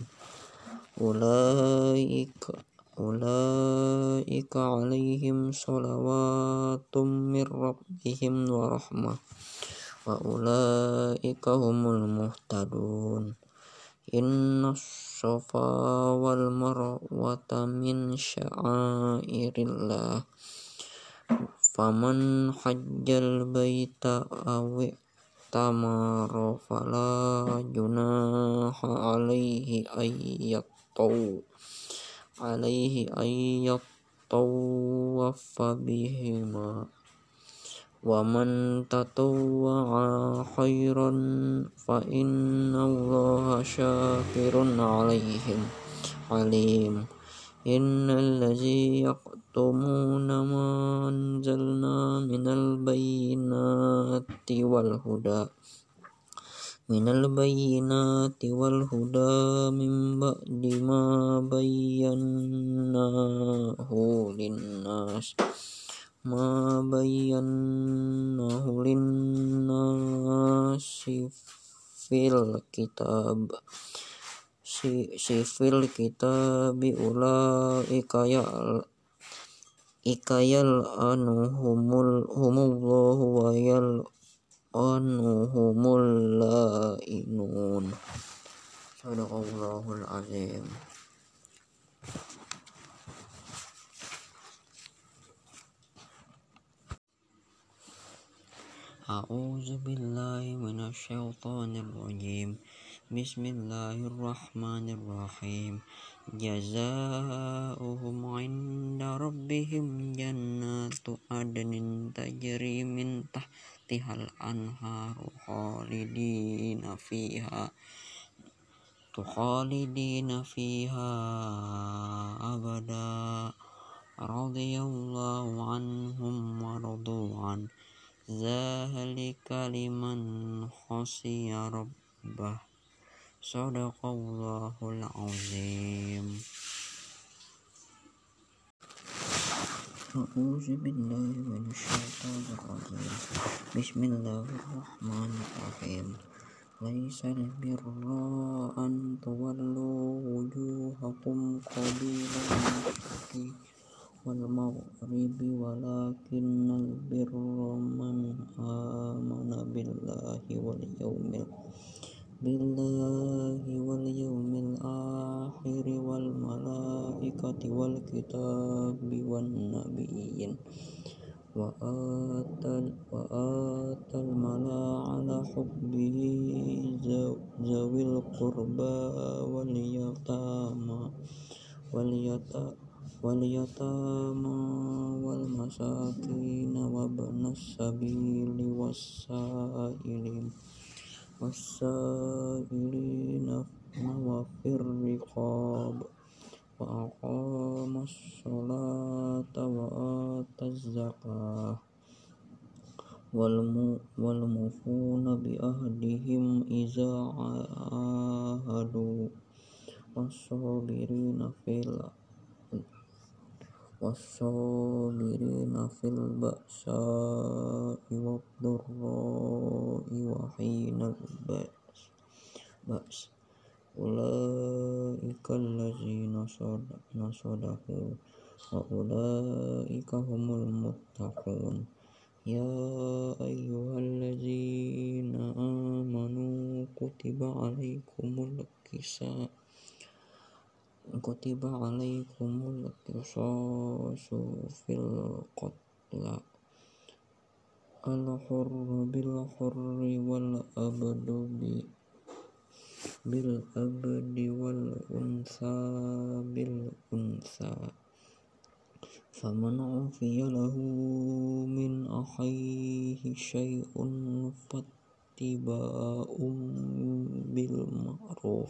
أولئك أولئك عليهم صلوات من ربهم ورحمة وأولئك هم المهتدون إن الصفا والمروة من شعائر الله فمن حج البيت أو اعتمر فلا جناح عليه أن يطوف عليه أن يطوف بهما ومن تطوع خيرا فإن الله شاكر عليهم عليم إن الذي yaktumuna ma anzalna minal bayyinati wal huda minal bayyinati wal huda min ba'di ma bayyanahu linnas ma bayyanahu linnasi fil kitab si sifil kitabi ulaika ya ikayal anuhumul humullahu wa yal anuhumul lainun. Sadaqallahul azim. A'udzu billahi minasyaitonir rajim. Bismillahirrahmanirrahim. Jazaohum 'inda rabbihim jannatu adnin tajri min tahtihal anharu khalidina fiha tukhalidina fiha abada radhiyallahu anhum wa radu'an dzalika liman khashiya rabbah. Sadaqallahul azim. A'udzu billahi minasyaitonir rajim. Bismillahirrahmanirrahim. Laisal birra an tuwallu wujuhakum qabilal masyriqi wal maghribi walakinnal birra man amana billahi wal yawmil billahi wal yawmil akhir wal malaikati wal kitabi wan nabiyyin wa atal wa atal mala ala hubbihi zawil qurba wal yatama wal yata wal yatama wal masakin wa banas sabili wasailin wasailina wa fir riqab wa aqamas sholata wa ataz zakah wal mu wal mufuna bi ahdihim iza ahadu was-sabirina fil was-sabirina fil ba'sa'i wad-dharra'i wa hinal ba's ba's ulaika allazina sadaqu wa ulaika humul muttaqun. Ya ayyuhallazina amanu kutiba alaikumul qisas kutiba alaikumul qisasu fil qatla al-hurru bil hurri wal abdu bil abdi wal unsa bil unsa faman ufiya lahu min akhihi syai'un fattiba'um bil ma'ruf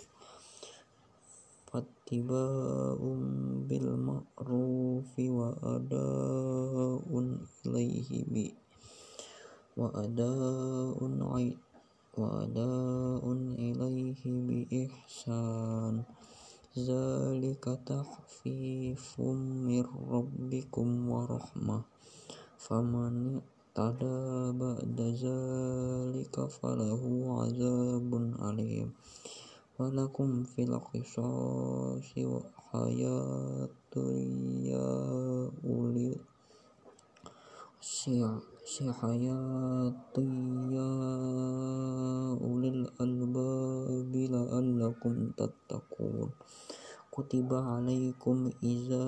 fattiba'um bil ma'rufi wa ada'un ilaihi bi wa ada'un ai wa ada'un ilaihi bi ihsan zalika tahfifum mir rabbikum wa rahmah faman tada ba'da zalika falahu azabun alim walakum fil qisasi hayatun ya ulil si hayatun ya ulil albabi la'allakum tattaqun. Kutiba alaikum iza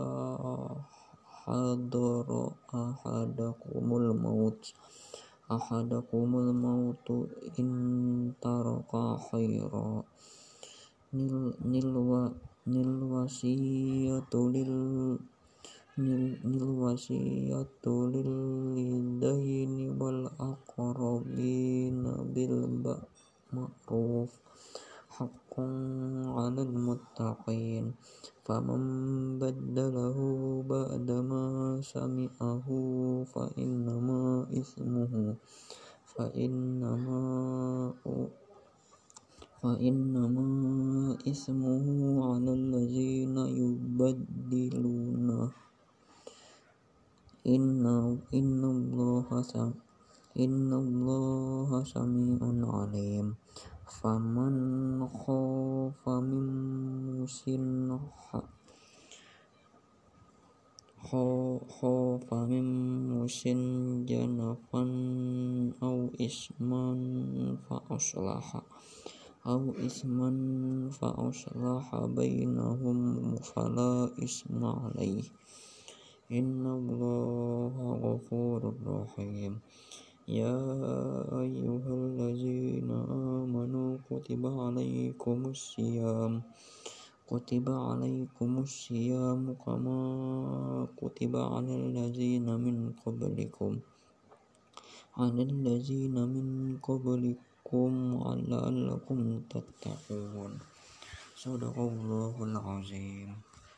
hadara ahadakumul maut ahadakumul mautu in taraka khaira nil nilwa nil wasiyatu lil nil nil wasiyatu lil lidaini wal aqrabina bil ma'ruf haqqan على المتقين فمن بدله بعدما سمعه فإنما إثمه فإنما فإنما إثمه على الذين يبدلونه إن إن الله إن الله سميع عليم فمن خاف من موص خاف من موص جنفا أو إثما فأصلح أو إثما فأصلح بينهم فلا إثم عليه إن الله غفور رحيم يا أيها الذين آمنوا كتب عليكم الصيام كتب عليكم الصيام كما كتب على الذين من قبلكم على الذين من قبلكم لعلكم تتقون صدق الله العظيم.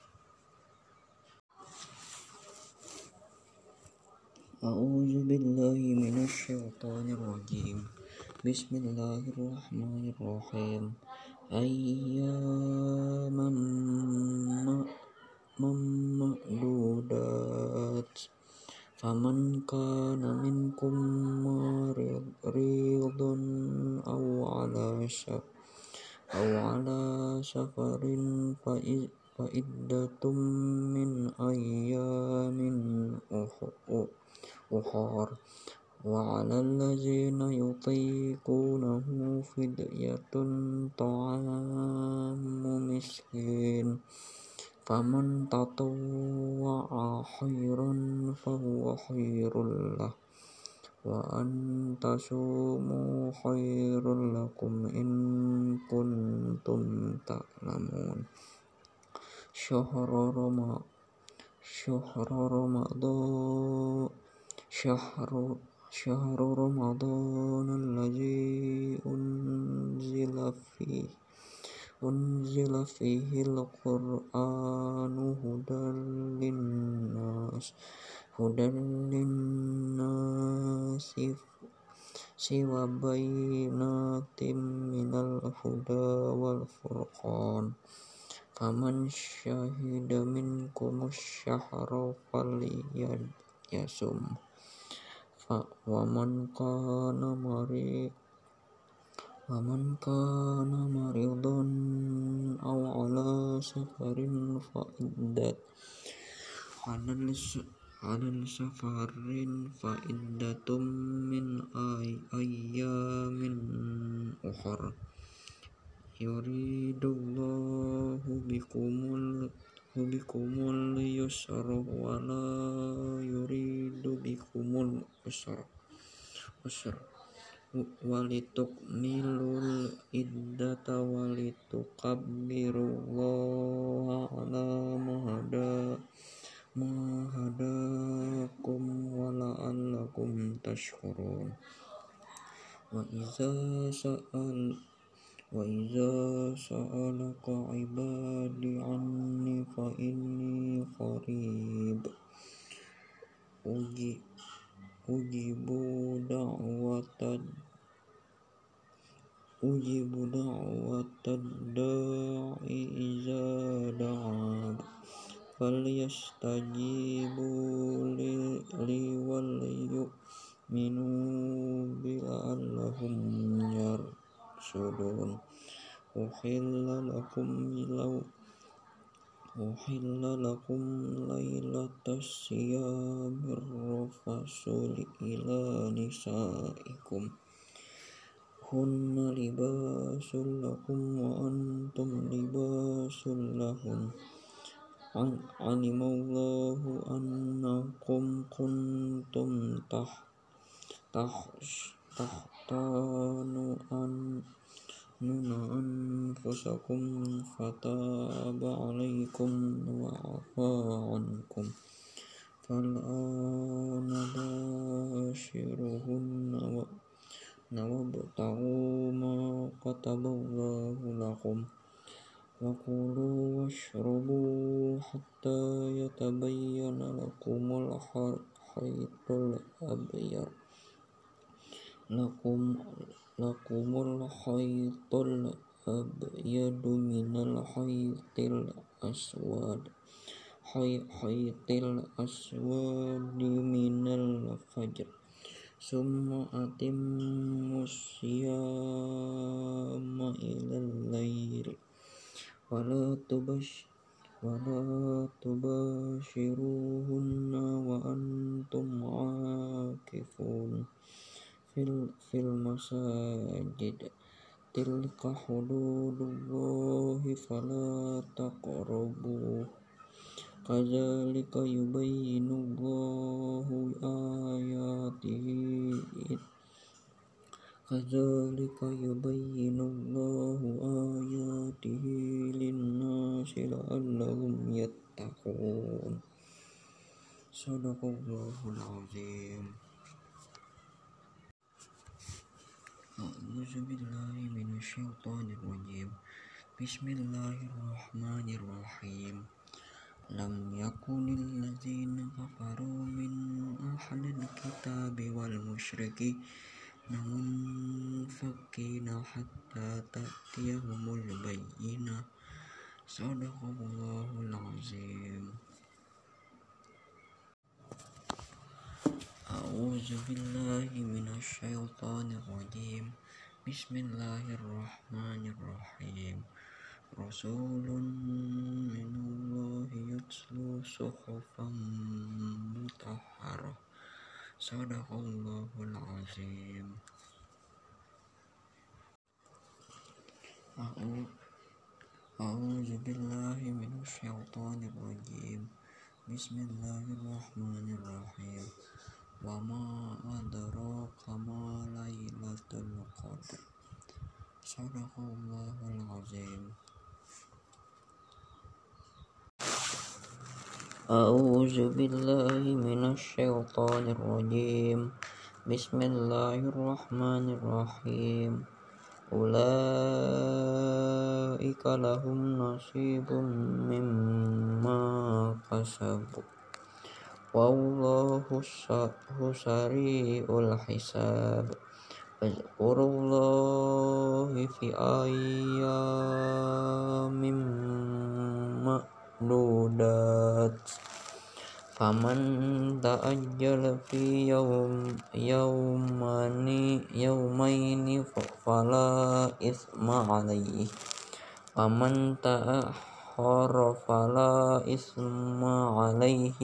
أعوذ بالله من الشيطان الرجيم بسم الله الرحمن الرحيم أياما معدودات فمن كان منكم مريضا أو على أو على سفر فعدة من أيام أخر وعلى الذين يطيقونه فدية طعام مسكين فمن تطوع خيرا فهو خير له وأن تصوموا خير لكم إن كنتم تعلمون شهر رمضان شهر رمضان شهر شهر رمضان الذي أنزل فيه أنزل فيه القرآن هدى للناس هدى للناس وبينات من الهدى والفرقان فمن شهد منكم الشهر فليصم ومن كان مريض ومن كان مريضا أو على سفر فعدة على السفر فعدة من أيام أخر يريد الله بكم اليسر ولا يريد بكم العسر ولتكملوا العدة ولتكبروا الله على ما هداكم ولعلكم تشكرون وإذا سأل وإذا سألك عبادي عني فإني قريب أجيب دعوة أجيب دعوة الداعي إذا دعان فليستجيبوا لي وليؤمنوا بي لعلهم يرشدون أحل لكم لو أحل لكم ليلة الصيام الرفث إلى نسائكم هن لباس لكم وأنتم لباس لهن علم الله أنكم كنتم تختانون أنفسكم فتاب عليكم وعفى عنكم فالآن باشروهن وابتغوا ما كتب الله لكم وكلوا واشربوا حتى يتبين لكم الخيط الأبيض لكم لكم الخيط الأبيض من الخيط الأسود خيط الأسود من الفجر ثم أتموا الصيام إلى الليل ولا تبش ولا تباشروهن وأنتم عاكفون في المساجد تلك حدود الله فلا تقربوها كذلك يبين الله آياته كذلك يبين الله آياته للناس لعلهم يتقون صدق الله العظيم. أعوذ بالله من الشيطان الرجيم بسم الله الرحمن الرحيم لم يكن الذين كفروا من أهل الكتاب والمشركين منفكين حتى تأتيهم البينة صدق الله العظيم. أعوذ بالله من الشيطان الرجيم بسم الله الرحمن الرحيم رسول من الله يتلو صحفا مطهرة صدق الله العظيم. أعوذ بالله من الشيطان الرجيم بسم الله الرحمن الرحيم وما أدراك ما ليلة القدر صدق الله العظيم. أعوذ بالله من الشيطان الرجيم بسم الله الرحمن الرحيم أولئك لهم نصيب مما كسبوا والله سريع الحساب اذكروا الله في أيام معدودات فمن تأجل في يوم يومين يومين فلا إثم عليه ومن تأخر فلا إثم عليه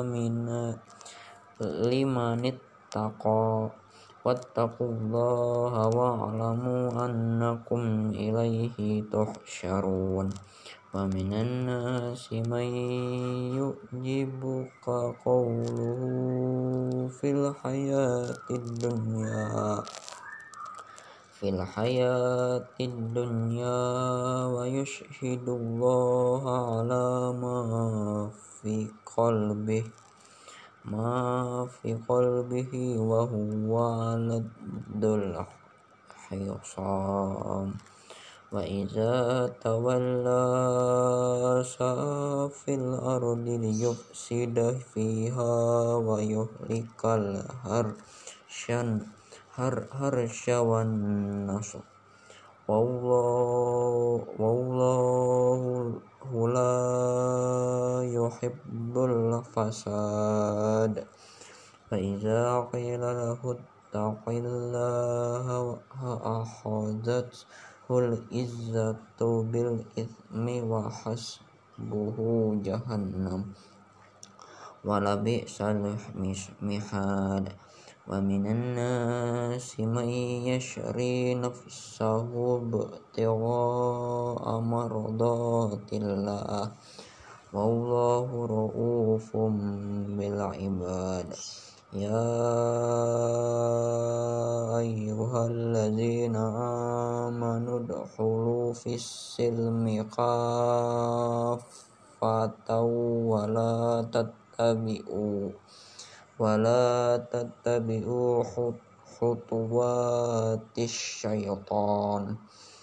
لمن اتقى واتقوا الله واعلموا أنكم إليه تحشرون ومن الناس من يعجبك قوله في الحياة الدنيا في الحياة الدنيا ويشهد الله على ما في قلبه ما في قلبه وهو لد الخصام وإذا تولى سعى في الأرض ليفسد فيها ويهلك الحرث والنسل والله لا يحب الفساد فإذا قيل له اتق الله أخذته العزة بالإثم وحسبه جهنم ولبئس المهاد ومن الناس من يشري نفسه ابتغاء مرضات الله والله رؤوف بالعباد يا أيها الذين آمنوا ادخلوا في السلم كافة ولا تتبعوا ولا تتبعوا khutuwatis syaitan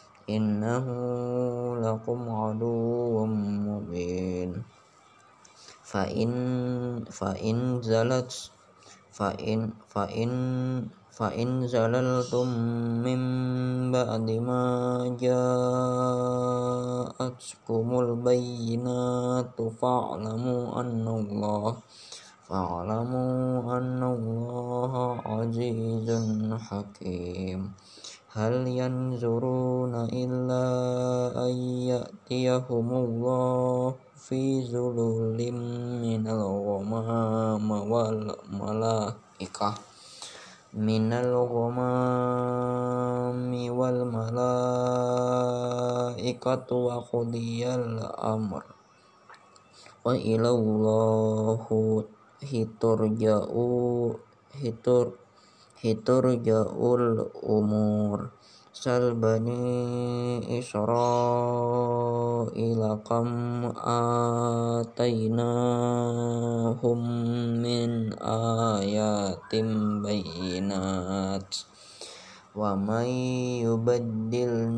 innahu lakum aduwwum mubin. Fa in fa in zalat fa in fa in fa in zalaltum min ba'di ma ja'atkumul bayyinatu fa'lamu annallaha fa'lamu annallaha azizun hakim. Hal yanzuruna illa ayyatiyahumullahu fi zululim minal ghamam wal malaikah minal ghamami wal malaikatu wa qudiyal amr wa ilallahu hiturja'u hitur hiturja'ul umur. Sal bani Israila kam atainahum min ayatim bayyinat wa may yubaddil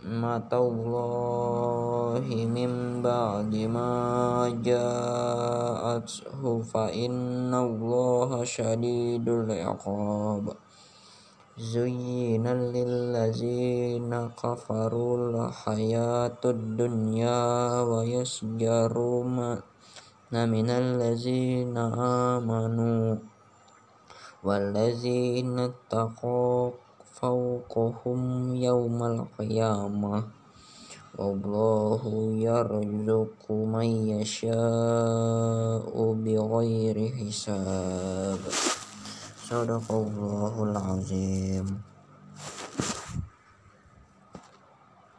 ni'matallahi min ba'di ma ja'athu fa innallaha syadidul iqab. Zuyyina lillazina kafarul hayatud dunya wa yasjaru na minal lazina amanu wallazina taqaw fawqahum yawmal qiyamah wallahu yarzuqu man yasha'u bighairi hisab. Sadaqallahul azim.